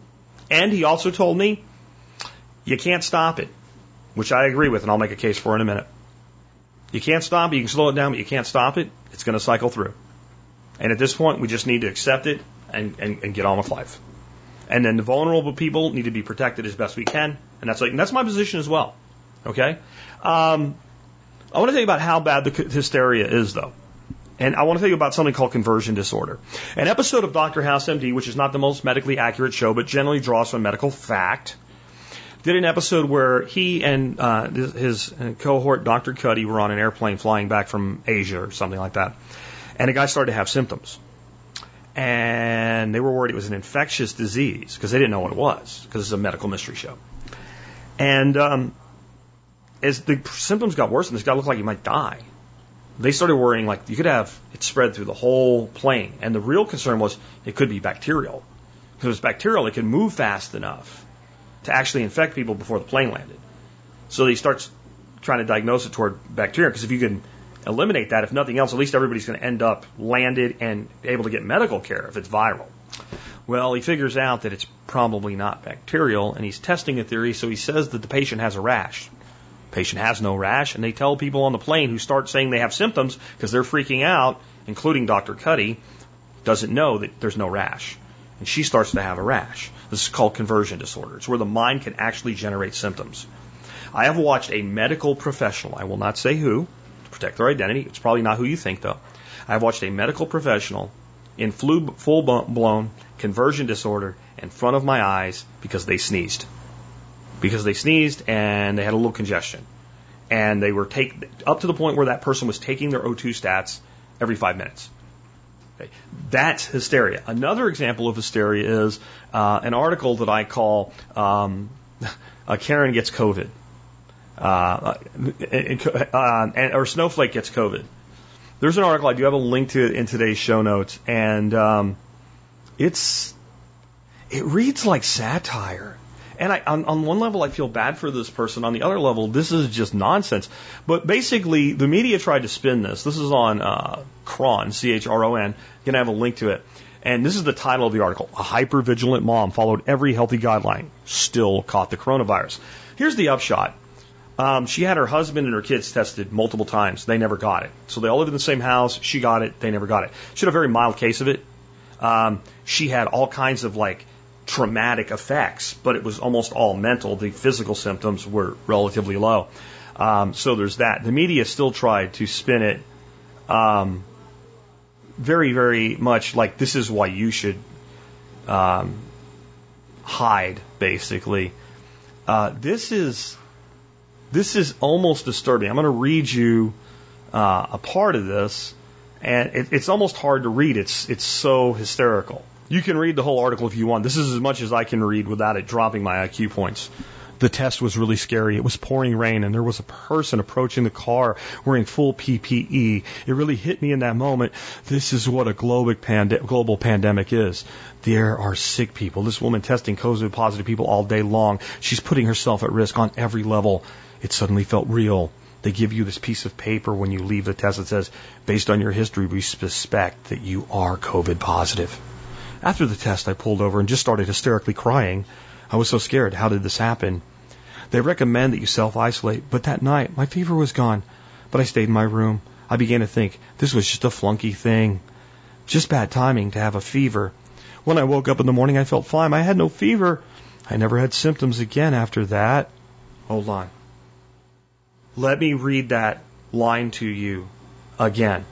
Speaker 2: And he also told me, you can't stop it, which I agree with, and I'll make a case for in a minute. You can't stop it. You can slow it down, but you can't stop it. It's going to cycle through. And at this point, we just need to accept it and get on with life. And then the vulnerable people need to be protected as best we can. And that's my position as well. Okay? I want to tell you about how bad the hysteria is, though. And I want to tell you about something called conversion disorder. An episode of Dr. House MD, which is not the most medically accurate show, but generally draws from medical fact, did an episode where he and his cohort, Dr. Cuddy, were on an airplane flying back from Asia or something like that. And a guy started to have symptoms. And they were worried it was an infectious disease because they didn't know what it was, because it's a medical mystery show. And as the symptoms got worse and this guy looked like he might die, they started worrying like you could have it spread through the whole plane. And the real concern was it could be bacterial. Because if it was bacterial, it could move fast enough to actually infect people before the plane landed. So he starts trying to diagnose it toward bacteria, because if you can eliminate that, if nothing else, at least everybody's going to end up landed and able to get medical care if it's viral. Well, he figures out that it's probably not bacterial, and he's testing a theory, so he says that the patient has a rash. The patient has no rash, and they tell people on the plane who start saying they have symptoms because they're freaking out, including Dr. Cuddy, doesn't know that there's no rash. And she starts to have a rash. This is called conversion disorder. It's where the mind can actually generate symptoms. I have watched a medical professional, I will not say who, to protect their identity. It's probably not who you think, though. I have watched a medical professional in full-blown conversion disorder in front of my eyes because they sneezed. Because they sneezed and they had a little congestion. And they were up to the point where that person was taking their O2 stats every 5 minutes. Okay. That's hysteria. Another example of hysteria is an article that I call Karen Gets COVID. Or Snowflake Gets COVID. There's an article, I do have a link to it in today's show notes, and it reads like satire. And on one level, I feel bad for this person. On the other level, this is just nonsense. But basically, the media tried to spin this. This is on Chron, CHRON. You're going to have a link to it. And this is the title of the article. A hypervigilant mom followed every healthy guideline, still caught the coronavirus. Here's the upshot. She had her husband and her kids tested multiple times. They never got it. So they all live in the same house. She got it. They never got it. She had a very mild case of it. She had all kinds of traumatic effects, but it was almost all mental. The physical symptoms were relatively low. So there's that. The media still tried to spin it very, very much like this is why you should hide, basically. This is almost disturbing. I'm going to read you a part of this, and it's almost hard to read. It's so hysterical. You can read the whole article if you want. This is as much as I can read without it dropping my IQ points. The test was really scary. It was pouring rain, and there was a person approaching the car wearing full PPE. It really hit me in that moment. This is what a global pandemic is. There are sick people. This woman testing COVID positive people all day long. She's putting herself at risk on every level. It suddenly felt real. They give you this piece of paper when you leave the test that says, based on your history, we suspect that you are COVID positive. After the test, I pulled over and just started hysterically crying. I was so scared. How did this happen? They recommend that you self-isolate, but that night, my fever was gone. But I stayed in my room. I began to think, this was just a flunky thing. Just bad timing to have a fever. When I woke up in the morning, I felt fine. I had no fever. I never had symptoms again after that. Hold on. Let me read that line to you again.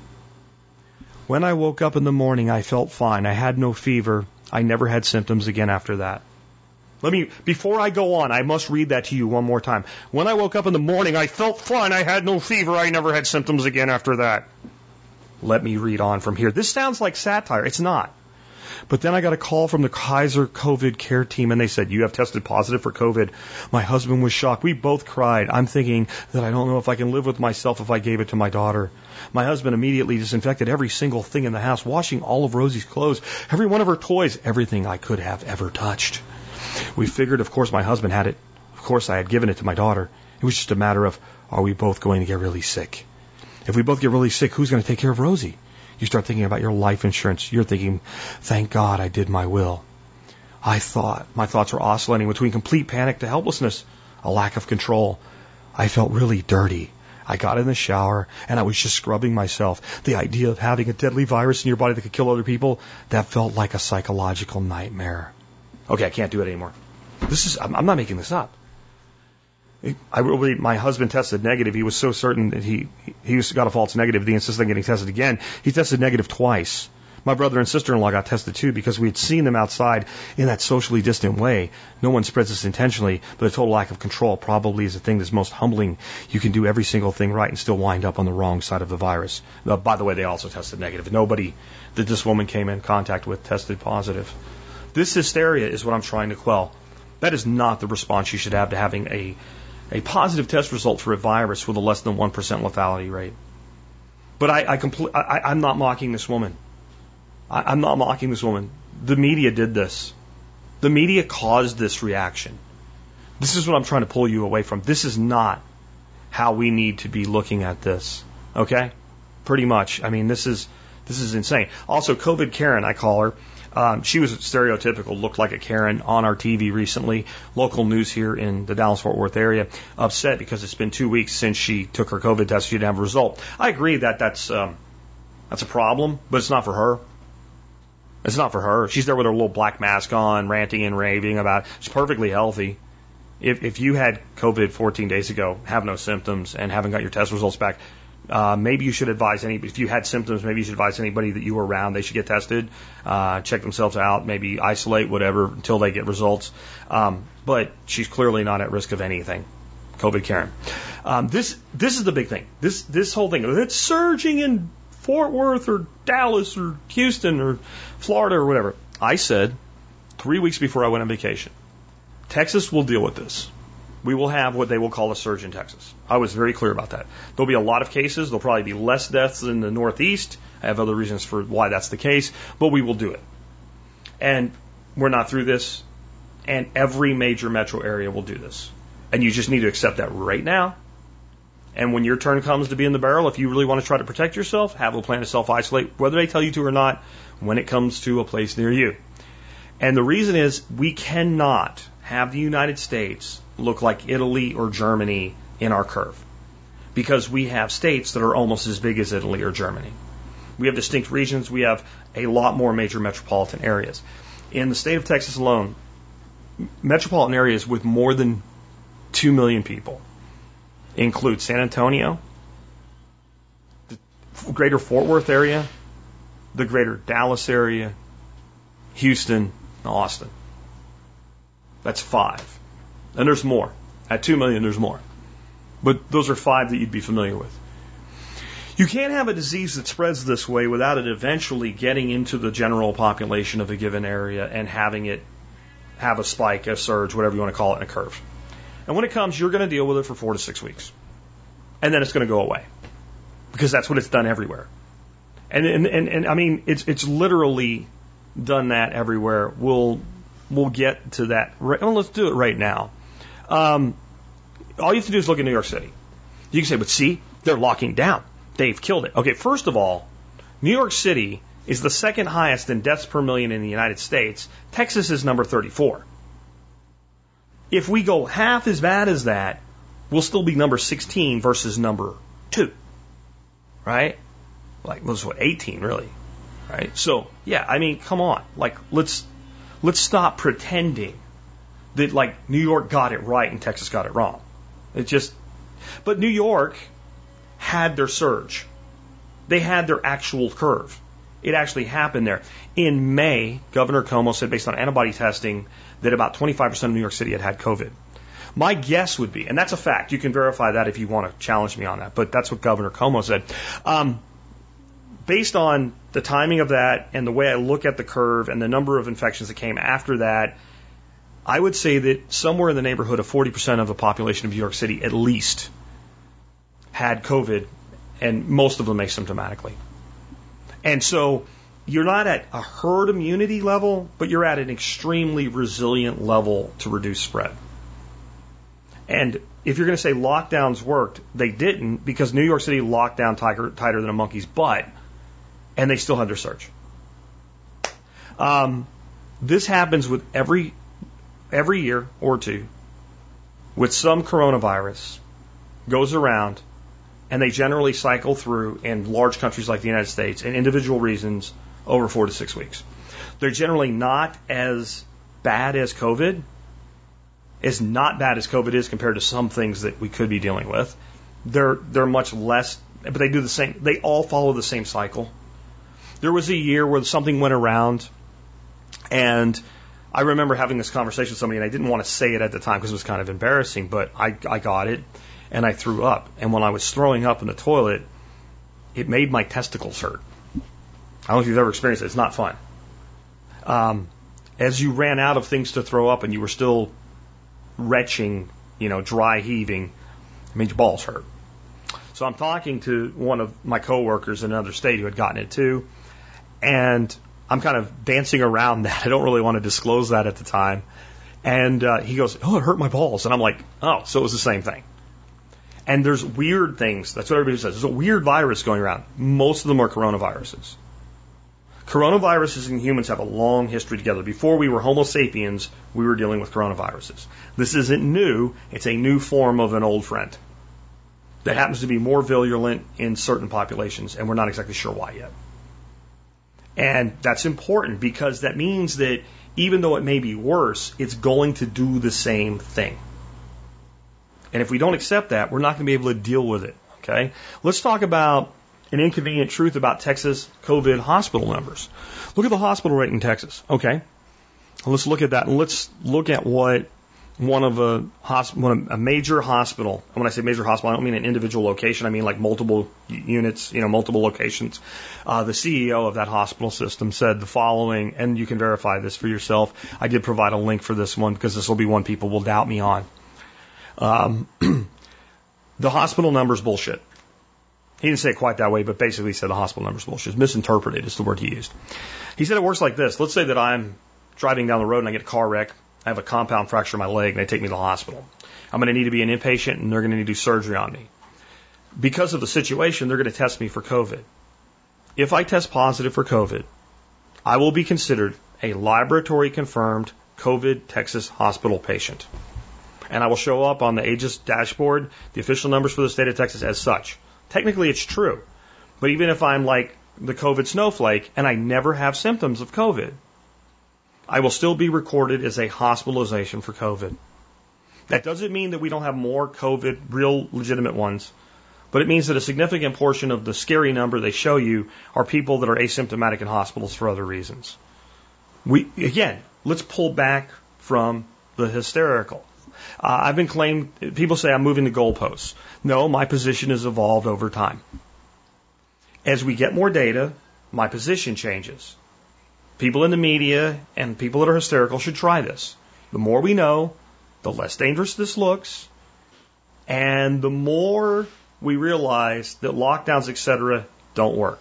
Speaker 2: When I woke up in the morning, I felt fine. I had no fever. I never had symptoms again after that. Before I go on, I must read that to you one more time. When I woke up in the morning, I felt fine. I had no fever. I never had symptoms again after that. Let me read on from here. This sounds like satire. It's not. But then I got a call from the Kaiser COVID care team, and they said, you have tested positive for COVID. My husband was shocked. We both cried. I'm thinking that I don't know if I can live with myself if I gave it to my daughter. My husband immediately disinfected every single thing in the house, washing all of Rosie's clothes, every one of her toys, everything I could have ever touched. We figured, of course, my husband had it. Of course, I had given it to my daughter. It was just a matter of, are we both going to get really sick? If we both get really sick, who's going to take care of Rosie? You start thinking about your life insurance. You're thinking, thank God I did my will. I thought. My thoughts were oscillating between complete panic to helplessness, a lack of control. I felt really dirty. I got in the shower and I was just scrubbing myself. The idea of having a deadly virus in your body that could kill other people, that felt like a psychological nightmare. Okay, I can't do it anymore. I'm not making this up. My husband tested negative. He was so certain that he got a false negative. He insisted on getting tested again. He tested negative twice. My brother and sister-in-law got tested too because we had seen them outside in that socially distant way. No one spreads this intentionally, but a total lack of control probably is the thing that's most humbling. You can do every single thing right and still wind up on the wrong side of the virus. By the way, they also tested negative. Nobody that this woman came in contact with tested positive. This hysteria is what I'm trying to quell. That is not the response you should have to having a positive test result for a virus with a less than 1% lethality rate. But I'm not mocking this woman. I'm not mocking this woman. The media did this. The media caused this reaction. This is what I'm trying to pull you away from. This is not how we need to be looking at this. Okay? Pretty much. I mean, this is insane. Also, COVID Karen, I call her. She was stereotypical, looked like a Karen on our TV recently. Local news here in the Dallas-Fort Worth area upset because it's been 2 weeks since she took her COVID test. She didn't have a result. I agree that that's a problem, but it's not for her. It's not for her. She's there with her little black mask on, ranting and raving about it. She's perfectly healthy. If you had COVID 14 days ago, have no symptoms, and haven't got your test results back, maybe you should advise anybody. If you had symptoms, maybe you should advise anybody that you were around. They should get tested, check themselves out, maybe isolate, whatever, until they get results. But she's clearly not at risk of anything. COVID Karen. This is the big thing. This whole thing. It's surging in Fort Worth or Dallas or Houston or Florida or whatever. I said 3 weeks before I went on vacation, Texas will deal with this. We will have what they will call a surge in Texas. I was very clear about that. There'll be a lot of cases. There'll probably be less deaths in the Northeast. I have other reasons for why that's the case, but we will do it. And we're not through this, and every major metro area will do this. And you just need to accept that right now. And when your turn comes to be in the barrel, if you really want to try to protect yourself, have a plan to self-isolate, whether they tell you to or not, when it comes to a place near you. And the reason is we cannot have the United States look like Italy or Germany in our curve, because we have states that are almost as big as Italy or Germany. We have distinct regions. We have a lot more major metropolitan areas. In the state of Texas alone, metropolitan areas with more than 2 million people include San Antonio, the greater Fort Worth area, the greater Dallas area, Houston, and Austin. That's 5. And there's more. At 2 million, there's more. But those are 5 that you'd be familiar with. You can't have a disease that spreads this way without it eventually getting into the general population of a given area and having it have a spike, a surge, whatever you want to call it, in a curve. And when it comes, you're going to deal with it for 4 to 6 weeks. And then it's going to go away. Because that's what it's done everywhere. And I mean, it's literally done that everywhere. We'll get to that. Well, let's do it right now. All you have to do is look at New York City. You can say, but see, they're locking down. They've killed it. Okay, first of all, New York City is the second highest in deaths per million in the United States. Texas is number 34. If we go half as bad as that, we'll still be number 16 versus number 2. Right? Like, what's 18 really? Right? So, yeah, I mean, come on. Like, let's stop pretending that, like, New York got it right and Texas got it wrong. But New York had their surge. They had their actual curve. It actually happened there. In May, Governor Cuomo said, based on antibody testing, that about 25% of New York City had COVID. My guess would be, and that's a fact, you can verify that if you want to challenge me on that, but that's what Governor Cuomo said. Based on the timing of that and the way I look at the curve and the number of infections that came after that, I would say that somewhere in the neighborhood of 40% of the population of New York City at least had COVID, and most of them asymptomatically. And so you're not at a herd immunity level, but you're at an extremely resilient level to reduce spread. And if you're going to say lockdowns worked, they didn't, because New York City locked down tighter than a monkey's butt, and they still had their surge. This happens with every year or two with some coronavirus goes around, and they generally cycle through in large countries like the United States and individual reasons over 4 to 6 weeks. They're generally not as bad as COVID, not bad as COVID is compared to some things that we could be dealing with. They're much less, but they do the same. They all follow the same cycle. There was a year where something went around, and I remember having this conversation with somebody, and I didn't want to say it at the time because it was kind of embarrassing, but I got it, and I threw up. And when I was throwing up in the toilet, it made my testicles hurt. I don't know if you've ever experienced it. It's not fun. As you ran out of things to throw up and you were still retching, dry heaving, it made your balls hurt. So I'm talking to one of my coworkers in another state who had gotten it too, and I'm kind of dancing around that. I don't really want to disclose that at the time. And he goes, "Oh, it hurt my balls." And I'm like, "Oh, so it was the same thing." And there's weird things. That's what everybody says. There's a weird virus going around. Most of them are coronaviruses. Coronaviruses and humans have a long history together. Before we were Homo sapiens, we were dealing with coronaviruses. This isn't new. It's a new form of an old friend that happens to be more virulent in certain populations, and we're not exactly sure why yet. And that's important because that means that even though it may be worse, it's going to do the same thing. And if we don't accept that, we're not going to be able to deal with it. Okay? Let's talk about an inconvenient truth about Texas COVID hospital numbers. Look at the hospital rate in Texas. Okay? Let's look at that, and let's look at what a major hospital, and when I say major hospital, I don't mean an individual location, I mean like multiple units, multiple locations. The CEO of that hospital system said the following, and you can verify this for yourself. I did provide a link for this one because this will be one people will doubt me on. The hospital number's bullshit. He didn't say it quite that way, but basically he said the hospital number's bullshit. Misinterpreted is the word he used. He said it works like this. Let's say that I'm driving down the road and I get a car wreck. I have a compound fracture in my leg, and they take me to the hospital. I'm going to need to be an inpatient, and they're going to need to do surgery on me. Because of the situation, they're going to test me for COVID. If I test positive for COVID, I will be considered a laboratory-confirmed COVID Texas hospital patient. And I will show up on the AEGIS dashboard, the official numbers for the state of Texas as such. Technically, it's true. But even if I'm like the COVID snowflake, and I never have symptoms of COVID, I will still be recorded as a hospitalization for COVID. That doesn't mean that we don't have more COVID, real legitimate ones, but it means that a significant portion of the scary number they show you are people that are asymptomatic in hospitals for other reasons. Again, let's pull back from the hysterical. I've been claimed, people say I'm moving the goalposts. No, my position has evolved over time. As we get more data, my position changes. People in the media and people that are hysterical should try this. The more we know, the less dangerous this looks, and the more we realize that lockdowns, etc., don't work.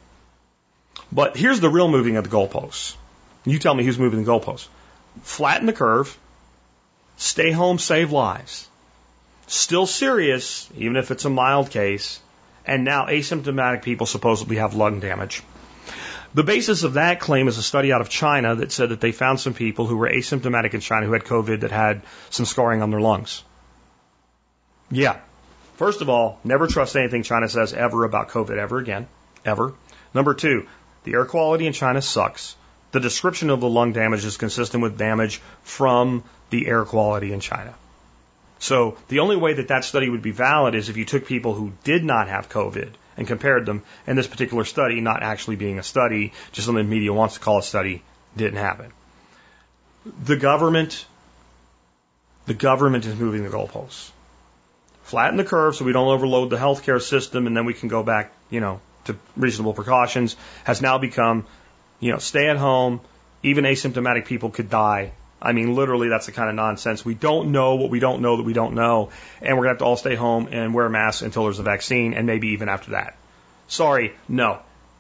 Speaker 2: But here's the real moving of the goalposts. You tell me who's moving the goalposts. Flatten the curve. Stay home, save lives. Still serious, even if it's a mild case. And now asymptomatic people supposedly have lung damage. The basis of that claim is a study out of China that said that they found some people who were asymptomatic in China who had COVID that had some scarring on their lungs. Yeah. First of all, never trust anything China says ever about COVID ever again. Ever. Number two, the air quality in China sucks. The description of the lung damage is consistent with damage from the air quality in China. So the only way that that study would be valid is if you took people who did not have COVID and compared them, and this particular study, not actually being a study, just something the media wants to call a study, didn't happen. The government is moving the goalposts. Flatten the curve so we don't overload the healthcare system, and then we can go back, to reasonable precautions, has now become, stay at home, even asymptomatic people could die. I mean, literally, that's the kind of nonsense. We don't know what we don't know that we don't know, and we're going to have to all stay home and wear masks until there's a vaccine, and maybe even after that. Sorry, no.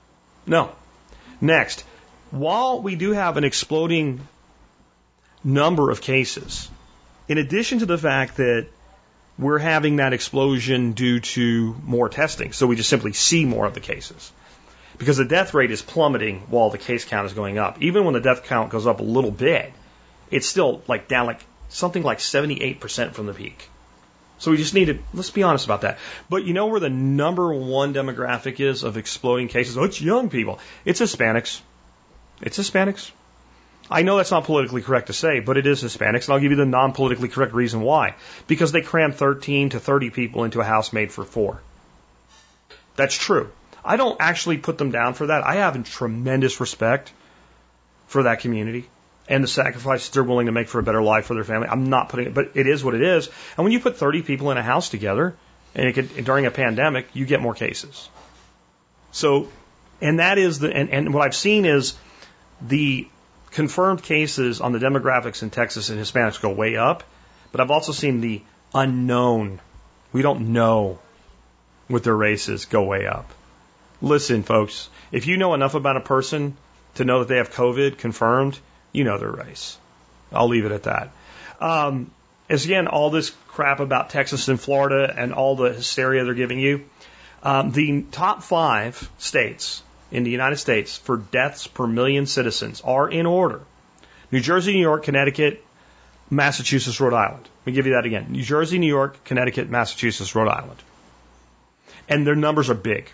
Speaker 2: Next, while we do have an exploding number of cases, in addition to the fact that we're having that explosion due to more testing, so we just simply see more of the cases, because the death rate is plummeting while the case count is going up. Even when the death count goes up a little bit, it's still like down like something like 78% from the peak. So we just need to, let's be honest about that. But you know where the number one demographic is of exploding cases? Oh, it's young people. It's Hispanics. It's Hispanics. I know that's not politically correct to say, but it is Hispanics, and I'll give you the non-politically correct reason why. Because they cram 13 to 30 people into a house made for 4. That's true. I don't actually put them down for that. I have tremendous respect for that community and the sacrifices they're willing to make for a better life for their family. I'm not putting it, but it is what it is. And when you put 30 people in a house together, and during a pandemic, you get more cases. So, and that is and what I've seen is the confirmed cases on the demographics in Texas and Hispanics go way up, but I've also seen the unknown. We don't know what their race is go way up. Listen, folks, if you know enough about a person to know that they have COVID confirmed, you know their race. I'll leave it at that. As again, all this crap about Texas and Florida and all the hysteria they're giving you, the top 5 states in the United States for deaths per million citizens are in order: New Jersey, New York, Connecticut, Massachusetts, Rhode Island. Let me give you that again. New Jersey, New York, Connecticut, Massachusetts, Rhode Island. And their numbers are big.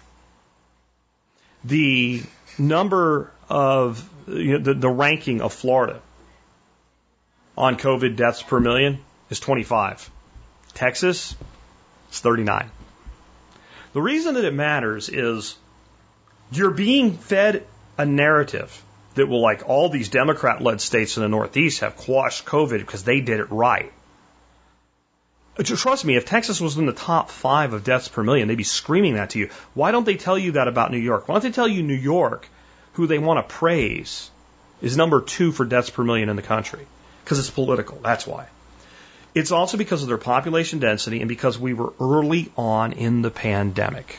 Speaker 2: The number of, the ranking of Florida on COVID deaths per million is 25. Texas is 39. The reason that it matters is you're being fed a narrative that will, like all these Democrat-led states in the Northeast have quashed COVID because they did it right. Trust me, if Texas was in the top 5 of deaths per million, they'd be screaming that to you. Why don't they tell you that about New York? Why don't they tell you New York, who they want to praise, is number 2 for deaths per million in the country? Because it's political. That's why. It's also because of their population density and because we were early on in the pandemic.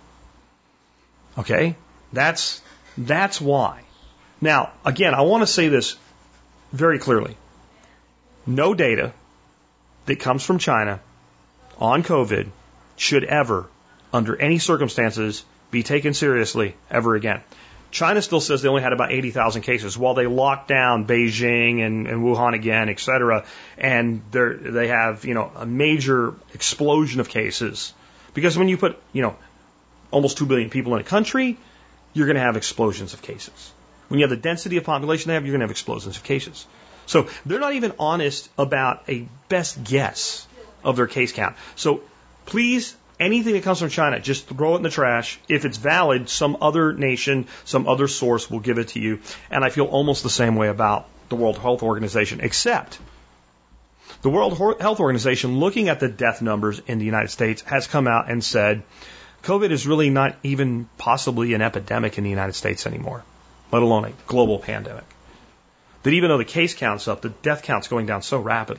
Speaker 2: Okay? That's why. Now, again, I want to say this very clearly. No data that comes from China on COVID should ever, under any circumstances, be taken seriously ever again. China still says they only had about 80,000 cases while they locked down Beijing and Wuhan again, et cetera, and they have, a major explosion of cases. Because when you put, almost 2 billion people in a country, you're going to have explosions of cases. When you have the density of population they have, you're going to have explosions of cases. So they're not even honest about a best guess of their case count. So please, anything that comes from China, just throw it in the trash. If it's valid, some other nation, some other source will give it to you. And I feel almost the same way about the World Health Organization, except the World Health Organization, looking at the death numbers in the United States, has come out and said COVID is really not even possibly an epidemic in the United States anymore, let alone a global pandemic. That even though the case count's up, the death count's going down so rapidly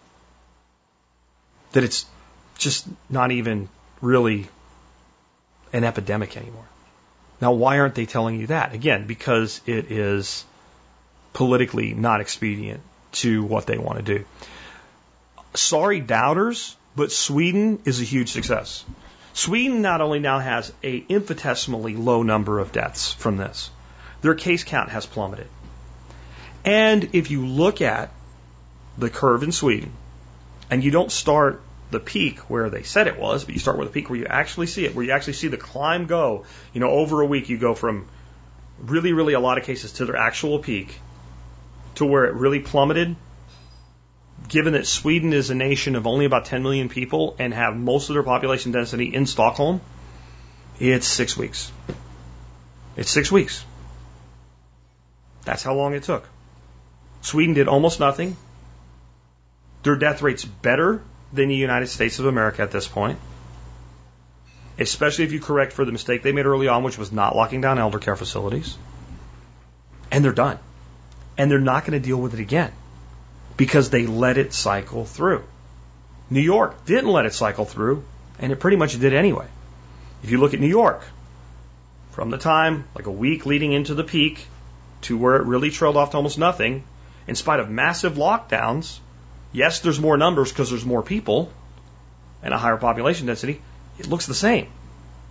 Speaker 2: that it's just not even really an epidemic anymore. Now, why aren't they telling you that? Again, because it is politically not expedient to what they want to do. Sorry, doubters, but Sweden is a huge success. Sweden not only now has an infinitesimally low number of deaths from this, their case count has plummeted. And if you look at the curve in Sweden, and you don't start the peak where they said it was, but you start with a peak where you actually see it, where you actually see the climb go, over a week you go from really, really a lot of cases to their actual peak to where it really plummeted. Given that Sweden is a nation of only about 10 million people and have most of their population density in Stockholm, it's 6 weeks. It's 6 weeks. That's how long it took. Sweden did almost nothing. Their death rate's better than the United States of America at this point, especially if you correct for the mistake they made early on, which was not locking down elder care facilities. And they're done. And they're not going to deal with it again because they let it cycle through. New York didn't let it cycle through, and it pretty much did anyway. If you look at New York, from the time, like a week leading into the peak, to where it really trailed off to almost nothing, in spite of massive lockdowns, yes, there's more numbers because there's more people and a higher population density, it looks the same.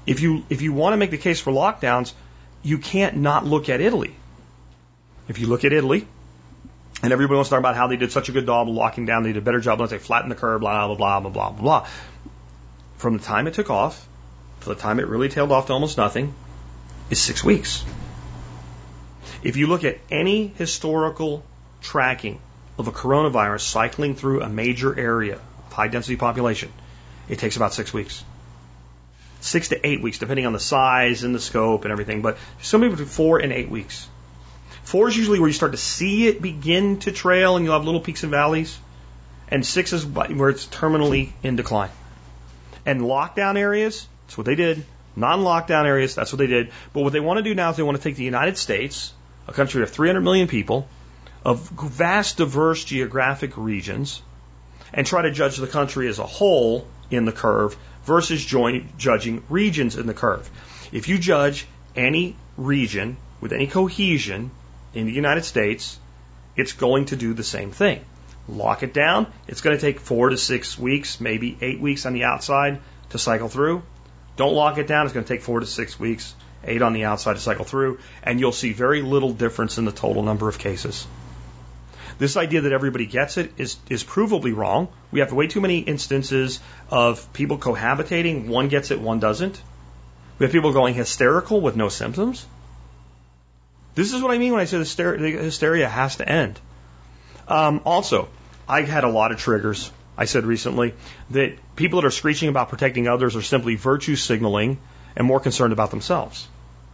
Speaker 2: If you want to make the case for lockdowns, you can't not look at Italy. If you look at Italy, and everybody wants to talk about how they did such a good job of locking down, they did a better job once they flattened the curve, blah, blah, blah, blah, blah, blah, blah. From the time it took off to the time it really tailed off to almost nothing is 6 weeks. If you look at any historical tracking of a coronavirus cycling through a major area of high density population, it takes about 6 weeks. 6 to 8 weeks, depending on the size and the scope and everything, but somewhere between 4 and 8 weeks. 4 is usually where you start to see it begin to trail and you'll have little peaks and valleys. And 6 is where it's terminally in decline. And lockdown areas, that's what they did. Non-lockdown areas, that's what they did. But what they want to do now is they want to take the United States, a country of 300 million people, of vast, diverse geographic regions, and try to judge the country as a whole in the curve versus judging regions in the curve. If you judge any region with any cohesion in the United States, it's going to do the same thing. Lock it down, it's going to take 4 to 6 weeks, maybe 8 weeks on the outside to cycle through. Don't lock it down, it's going to take 4 to 6 weeks, 8 on the outside to cycle through, and you'll see very little difference in the total number of cases. This idea that everybody gets it is provably wrong. We have way too many instances of people cohabitating, one gets it, one doesn't. We have people going hysterical with no symptoms. This is what I mean when I say the hysteria has to end. Also, I had a lot of triggers. I said recently that people that are screeching about protecting others are simply virtue signaling and more concerned about themselves.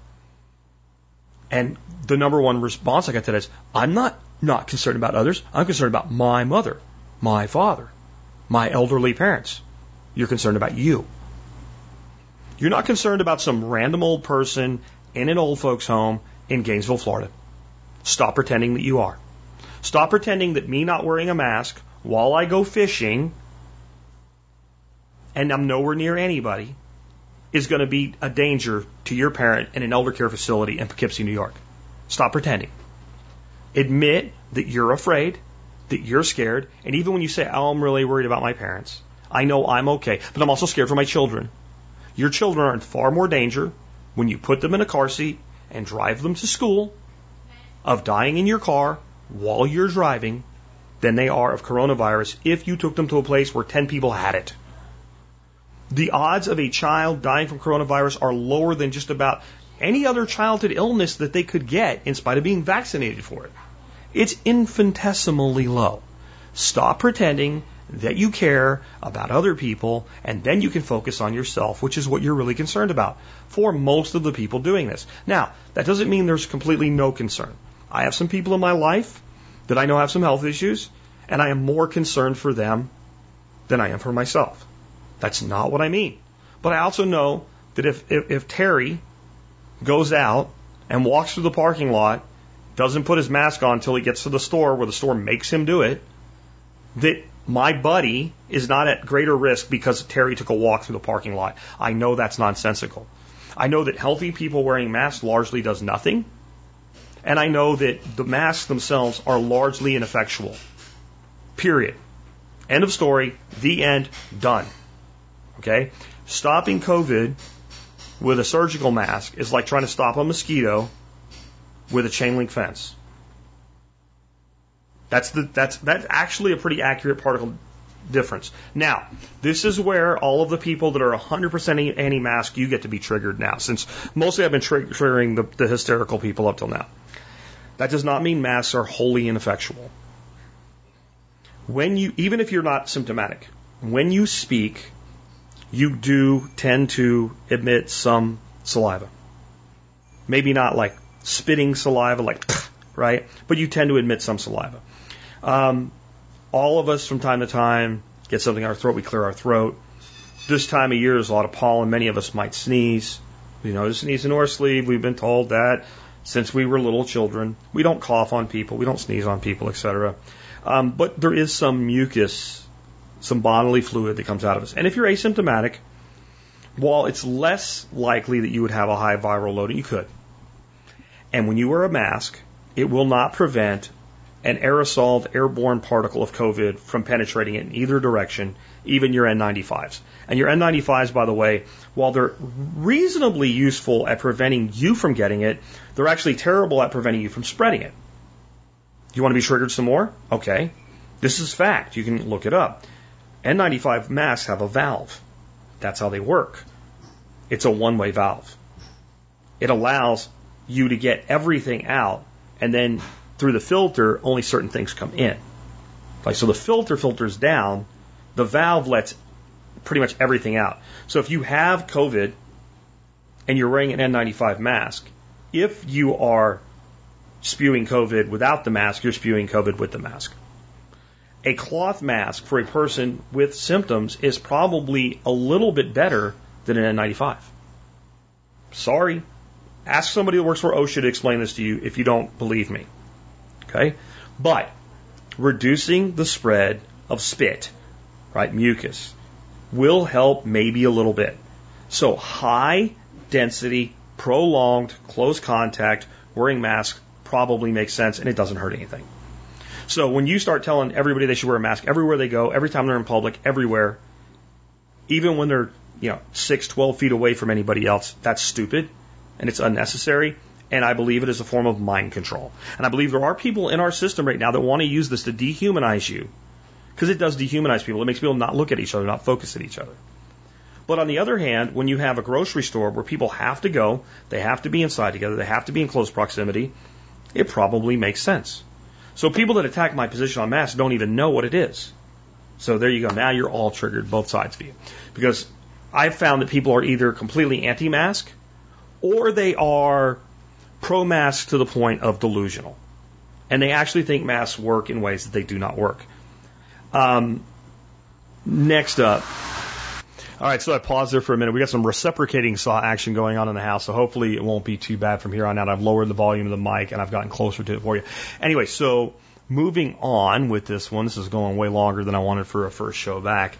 Speaker 2: And the number one response I got to that is, I'm not concerned about others. I'm concerned about my mother, my father, my elderly parents. You're concerned about you. You're not concerned about some random old person in an old folks' home in Gainesville, Florida. Stop pretending that you are. Stop pretending that me not wearing a mask while I go fishing and I'm nowhere near anybody is going to be a danger to your parent in an elder care facility in Poughkeepsie, New York. Stop pretending. Admit that you're afraid, that you're scared, and even when you say, oh, I'm really worried about my parents, I know I'm okay, but I'm also scared for my children. Your children are in far more danger when you put them in a car seat and drive them to school of dying in your car while you're driving than they are of coronavirus if you took them to a place where 10 people had it. The odds of a child dying from coronavirus are lower than just about any other childhood illness that they could get in spite of being vaccinated for it. It's infinitesimally low. Stop pretending that you care about other people, and then you can focus on yourself, which is what you're really concerned about for most of the people doing this. Now, that doesn't mean there's completely no concern. I have some people in my life that I know have some health issues, and I am more concerned for them than I am for myself. That's not what I mean. But I also know that if Terry goes out and walks through the parking lot, doesn't put his mask on until he gets to the store where the store makes him do it, that my buddy is not at greater risk because Terry took a walk through the parking lot. I know that's nonsensical. I know that healthy people wearing masks largely does nothing. And I know that the masks themselves are largely ineffectual. Period. End of story. The end. Done. Okay? Stopping COVID with a surgical mask is like trying to stop a mosquito with a chain link fence. That's actually a pretty accurate particle difference. Now, this is where all of the people that are 100% anti-mask, you get to be triggered now, since mostly I've been triggering the hysterical people up till now. That does not mean masks are wholly ineffectual. Even if you're not symptomatic, when you speak, you do tend to emit some saliva. Maybe not like spitting saliva, like, right? But you tend to emit some saliva. All of us from time to time get something in our throat, we clear our throat. This time of year there's a lot of pollen, many of us might sneeze. We know to sneeze into our sleeve, we've been told that since we were little children. We don't cough on people, we don't sneeze on people, etc. But there is some mucus, some bodily fluid that comes out of us. And if you're asymptomatic, while it's less likely that you would have a high viral load, you could. And when you wear a mask, it will not prevent an aerosoled airborne particle of COVID from penetrating it in either direction, even your N95s. And your N95s, by the way, while they're reasonably useful at preventing you from getting it, they're actually terrible at preventing you from spreading it. You want to be triggered some more? Okay. This is fact. You can look it up. N95 masks have a valve. That's how they work. It's a one-way valve. It allows you to get everything out, and then through the filter, only certain things come in. Like, so the filter filters down, the valve lets pretty much everything out. So if you have COVID and you're wearing an N95 mask, if you are spewing COVID without the mask, you're spewing COVID with the mask. A cloth mask for a person with symptoms is probably a little bit better than an N95. Sorry. Ask somebody who works for OSHA to explain this to you if you don't believe me. Okay? But reducing the spread of spit, right, mucus, will help maybe a little bit. So high density, prolonged, close contact, wearing masks probably makes sense, and it doesn't hurt anything. So when you start telling everybody they should wear a mask everywhere they go, every time they're in public, everywhere, even when they're 6, 12 feet away from anybody else, that's stupid and it's unnecessary. And I believe it is a form of mind control. And I believe there are people in our system right now that want to use this to dehumanize you, because it does dehumanize people. It makes people not look at each other, not focus at each other. But on the other hand, when you have a grocery store where people have to go, they have to be inside together, they have to be in close proximity, it probably makes sense. So people that attack my position on masks don't even know what it is. So there you go. Now you're all triggered, both sides of you. Because I've found that people are either completely anti-mask or they are pro-mask to the point of delusional. And they actually think masks work in ways that they do not work. Next up. All right, so I paused there for a minute. We got some reciprocating saw action going on in the house, so hopefully it won't be too bad from here on out. I've lowered the volume of the mic, and I've gotten closer to it for you. Anyway, so moving on with this one. This is going way longer than I wanted for a first show back.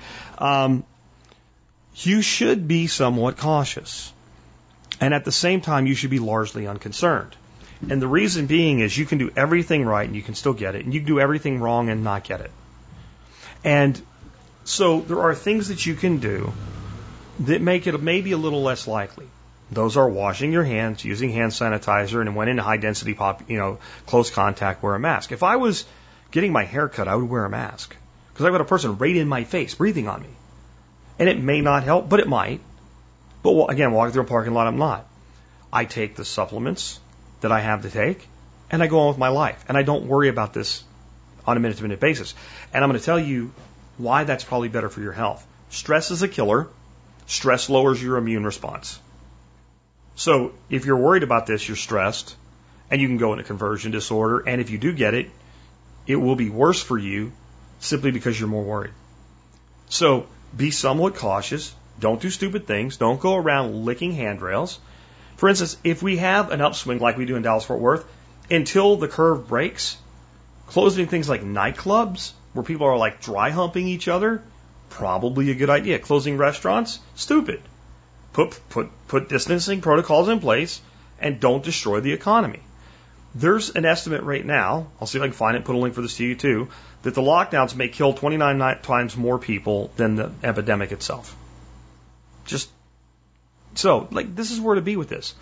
Speaker 2: You should be somewhat cautious. And at the same time, you should be largely unconcerned. And the reason being is you can do everything right and you can still get it, and you can do everything wrong and not get it. And so there are things that you can do that make it maybe a little less likely. Those are washing your hands, using hand sanitizer, and when in high density close contact, wear a mask. If I was getting my hair cut, I would wear a mask because I've got a person right in my face breathing on me. And it may not help, but it might. But again, walking through a parking lot, I'm not. I take the supplements that I have to take, and I go on with my life. And I don't worry about this on a minute-to-minute basis. And I'm going to tell you why that's probably better for your health. Stress is a killer. Stress lowers your immune response. So if you're worried about this, you're stressed, and you can go into conversion disorder. And if you do get it, it will be worse for you simply because you're more worried. So be somewhat cautious. Don't do stupid things. Don't go around licking handrails. For instance, if we have an upswing like we do in Dallas-Fort Worth, until the curve breaks, closing things like nightclubs, where people are like dry humping each other, probably a good idea. Closing restaurants, stupid. Put distancing protocols in place and don't destroy the economy. There's an estimate right now, I'll see if I can find it, put a link for this to you too, that the lockdowns may kill 29 times more people than the epidemic itself. Just so, this is where to be with this.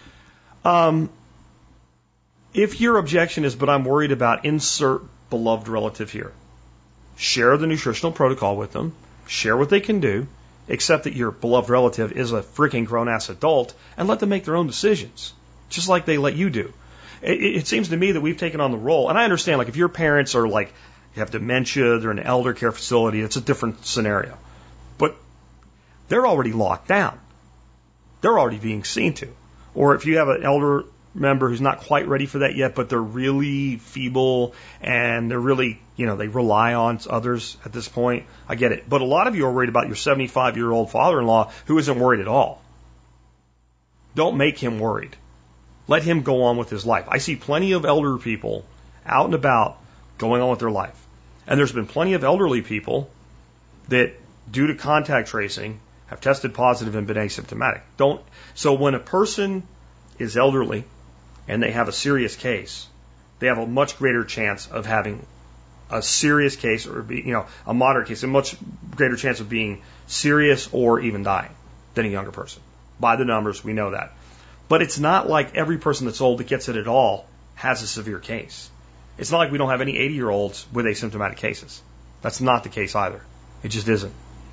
Speaker 2: If your objection is, but I'm worried about insert beloved relative here, share the nutritional protocol with them, share what they can do, accept that your beloved relative is a freaking grown-ass adult, and let them make their own decisions, just like they let you do. It seems to me that we've taken on the role, and I understand, if your parents are you have dementia, they're in an elder care facility, it's a different scenario. But they're already locked down. They're already being seen to. Or if you have an elder member who's not quite ready for that yet, but they're really feeble and they're really, they rely on others at this point, I get it. But a lot of you are worried about your 75-year-old father-in-law who isn't worried at all. Don't make him worried. Let him go on with his life. I see plenty of elder people out and about going on with their life. And there's been plenty of elderly people that, due to contact tracing, have tested positive and been asymptomatic. So when a person is elderly and they have a serious case, they have a much greater chance of having a serious case or a moderate case, a much greater chance of being serious or even dying than a younger person. By the numbers, we know that. But it's not like every person that's old that gets it at all has a severe case. It's not like we don't have any 80-year-olds with asymptomatic cases. That's not the case either. It just isn't.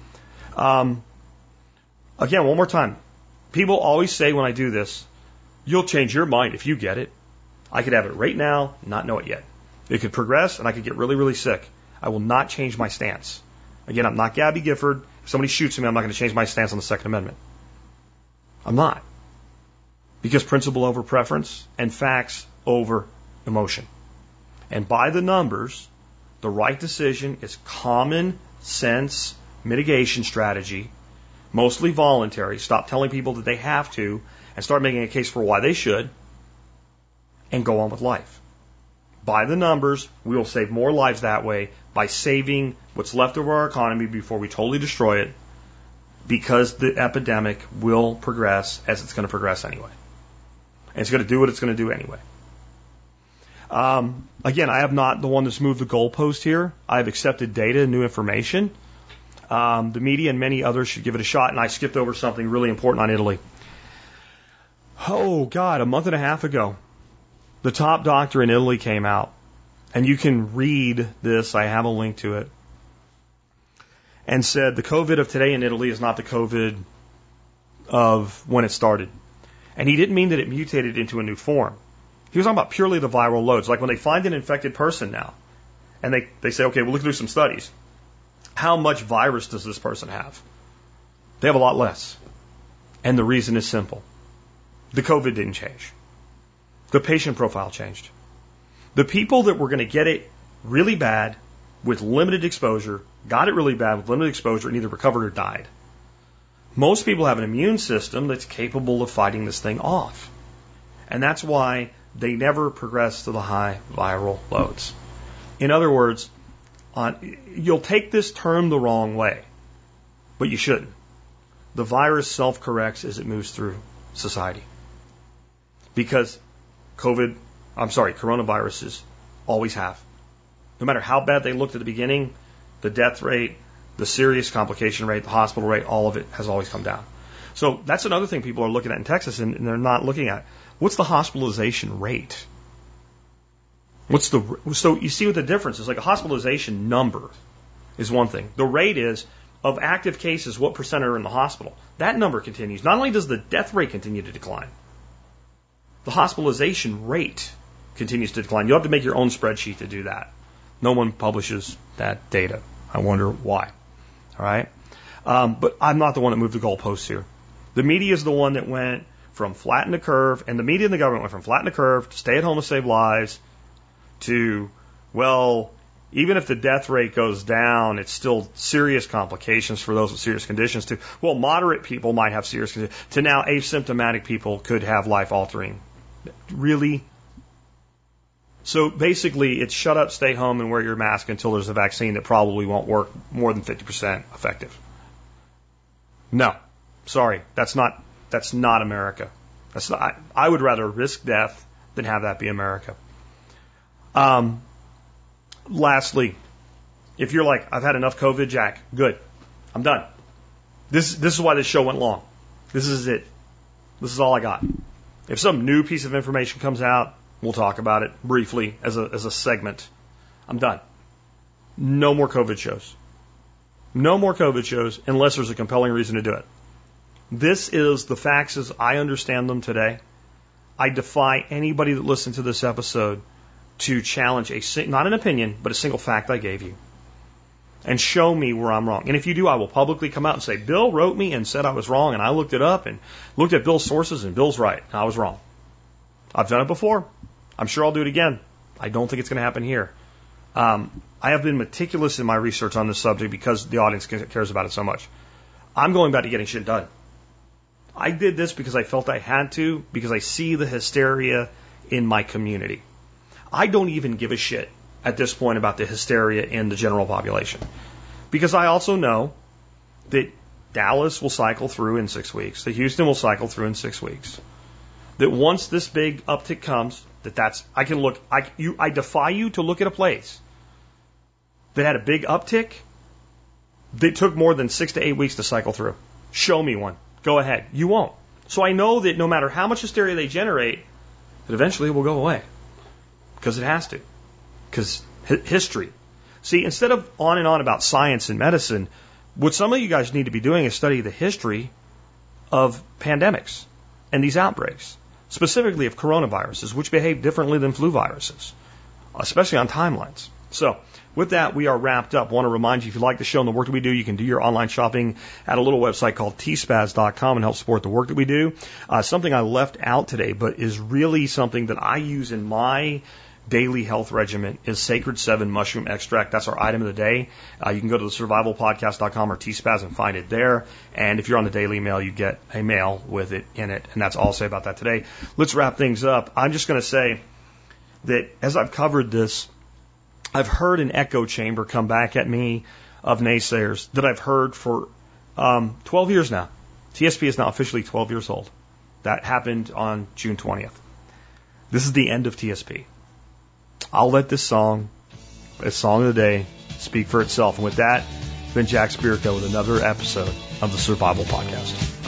Speaker 2: Again, one more time. People always say when I do this, you'll change your mind if you get it. I could have it right now, not know it yet. It could progress, and I could get really, really sick. I will not change my stance. Again, I'm not Gabby Gifford. If somebody shoots me, I'm not going to change my stance on the Second Amendment. I'm not. Because principle over preference and facts over emotion. And by the numbers, the right decision is common sense mitigation strategy, mostly voluntary. Stop telling people that they have to and start making a case for why they should and go on with life. By the numbers, we will save more lives that way by saving what's left of our economy before we totally destroy it, because the epidemic will progress as it's going to progress anyway. And it's going to do what it's going to do anyway. Again, I have not the one that's moved the goalpost here. I've accepted data and new information. The media and many others should give it a shot, and I skipped over something really important on Italy. Oh, God, a month and a half ago, the top doctor in Italy came out, and you can read this, I have a link to it, and said the COVID of today in Italy is not the COVID of when it started. And he didn't mean that it mutated into a new form. He was talking about purely the viral loads. Like when they find an infected person now, and they say, okay, we'll look through some studies. How much virus does this person have? They have a lot less. And the reason is simple. The COVID didn't change. The patient profile changed. The people that were going to get it really bad with limited exposure, got it really bad with limited exposure, and either recovered or died. Most people have an immune system that's capable of fighting this thing off. And that's why they never progress to the high viral loads. In other words, you'll take this term the wrong way, but you shouldn't. The virus self-corrects as it moves through society. Because coronaviruses always have. No matter how bad they looked at the beginning, the death rate, the serious complication rate, the hospital rate, all of it has always come down. So that's another thing people are looking at in Texas, and they're not looking at. What's the hospitalization rate? So you see what the difference is. Like a hospitalization number is one thing. The rate is of active cases, what percent are in the hospital. That number continues. Not only does the death rate continue to decline, the hospitalization rate continues to decline. You'll have to make your own spreadsheet to do that. No one publishes that data. I wonder why. All right? But I'm not the one that moved the goalposts here. The media is the one that went from flatten the curve, and the media and the government went from flatten the curve to stay at home to save lives to, well, even if the death rate goes down, it's still serious complications for those with serious conditions to, well, moderate people might have serious conditions, to now asymptomatic people could have life-altering. Really? So basically, it's shut up, stay home, and wear your mask until there's a vaccine that probably won't work more than 50% effective. No. Sorry. That's not America. I would rather risk death than have that be America. Lastly, if you're like, I've had enough COVID, Jack, good. I'm done. This is why this show went long. This is it. This is all I got. If some new piece of information comes out, we'll talk about it briefly as a segment. I'm done. No more COVID shows. No more COVID shows unless there's a compelling reason to do it. This is the facts as I understand them today. I defy anybody that listens to this episode to challenge not an opinion, but a single fact I gave you. And show me where I'm wrong. And if you do, I will publicly come out and say, Bill wrote me and said I was wrong, and I looked it up and looked at Bill's sources, and Bill's right. I was wrong. I've done it before. I'm sure I'll do it again. I don't think it's going to happen here. I have been meticulous in my research on this subject because the audience cares about it so much. I'm going back to getting shit done. I did this because I felt I had to, because I see the hysteria in my community. I don't even give a shit at this point about the hysteria in the general population. Because I also know that Dallas will cycle through in 6 weeks, that Houston will cycle through in 6 weeks. That once this big uptick comes, I defy you to look at a place that had a big uptick that took more than 6 to 8 weeks to cycle through. Show me one. Go ahead. You won't. So I know that no matter how much hysteria they generate, that eventually it will go away. Because it has to. Because history. See, instead of on and on about science and medicine, what some of you guys need to be doing is study the history of pandemics and these outbreaks, specifically of coronaviruses, which behave differently than flu viruses, especially on timelines. So, with that, we are wrapped up. I want to remind you, if you like the show and the work that we do, you can do your online shopping at a little website called tspaz.com and help support the work that we do. Something I left out today, but is really something that I use in my daily health regimen, is Sacred 7 mushroom extract. That's our item of the day. You can go to the survivalpodcast.com or tspaz and find it there. And if you're on the daily mail, you get a mail with it in it. And that's all I'll say about that today. Let's wrap things up. I'm just going to say that as I've covered this, I've heard an echo chamber come back at me of naysayers that I've heard for 12 years now. TSP is now officially 12 years old. That happened on June 20th. This is the end of TSP. I'll let this song, a song of the day, speak for itself. And with that, it's been Jack Spirko with another episode of the Survival Podcast.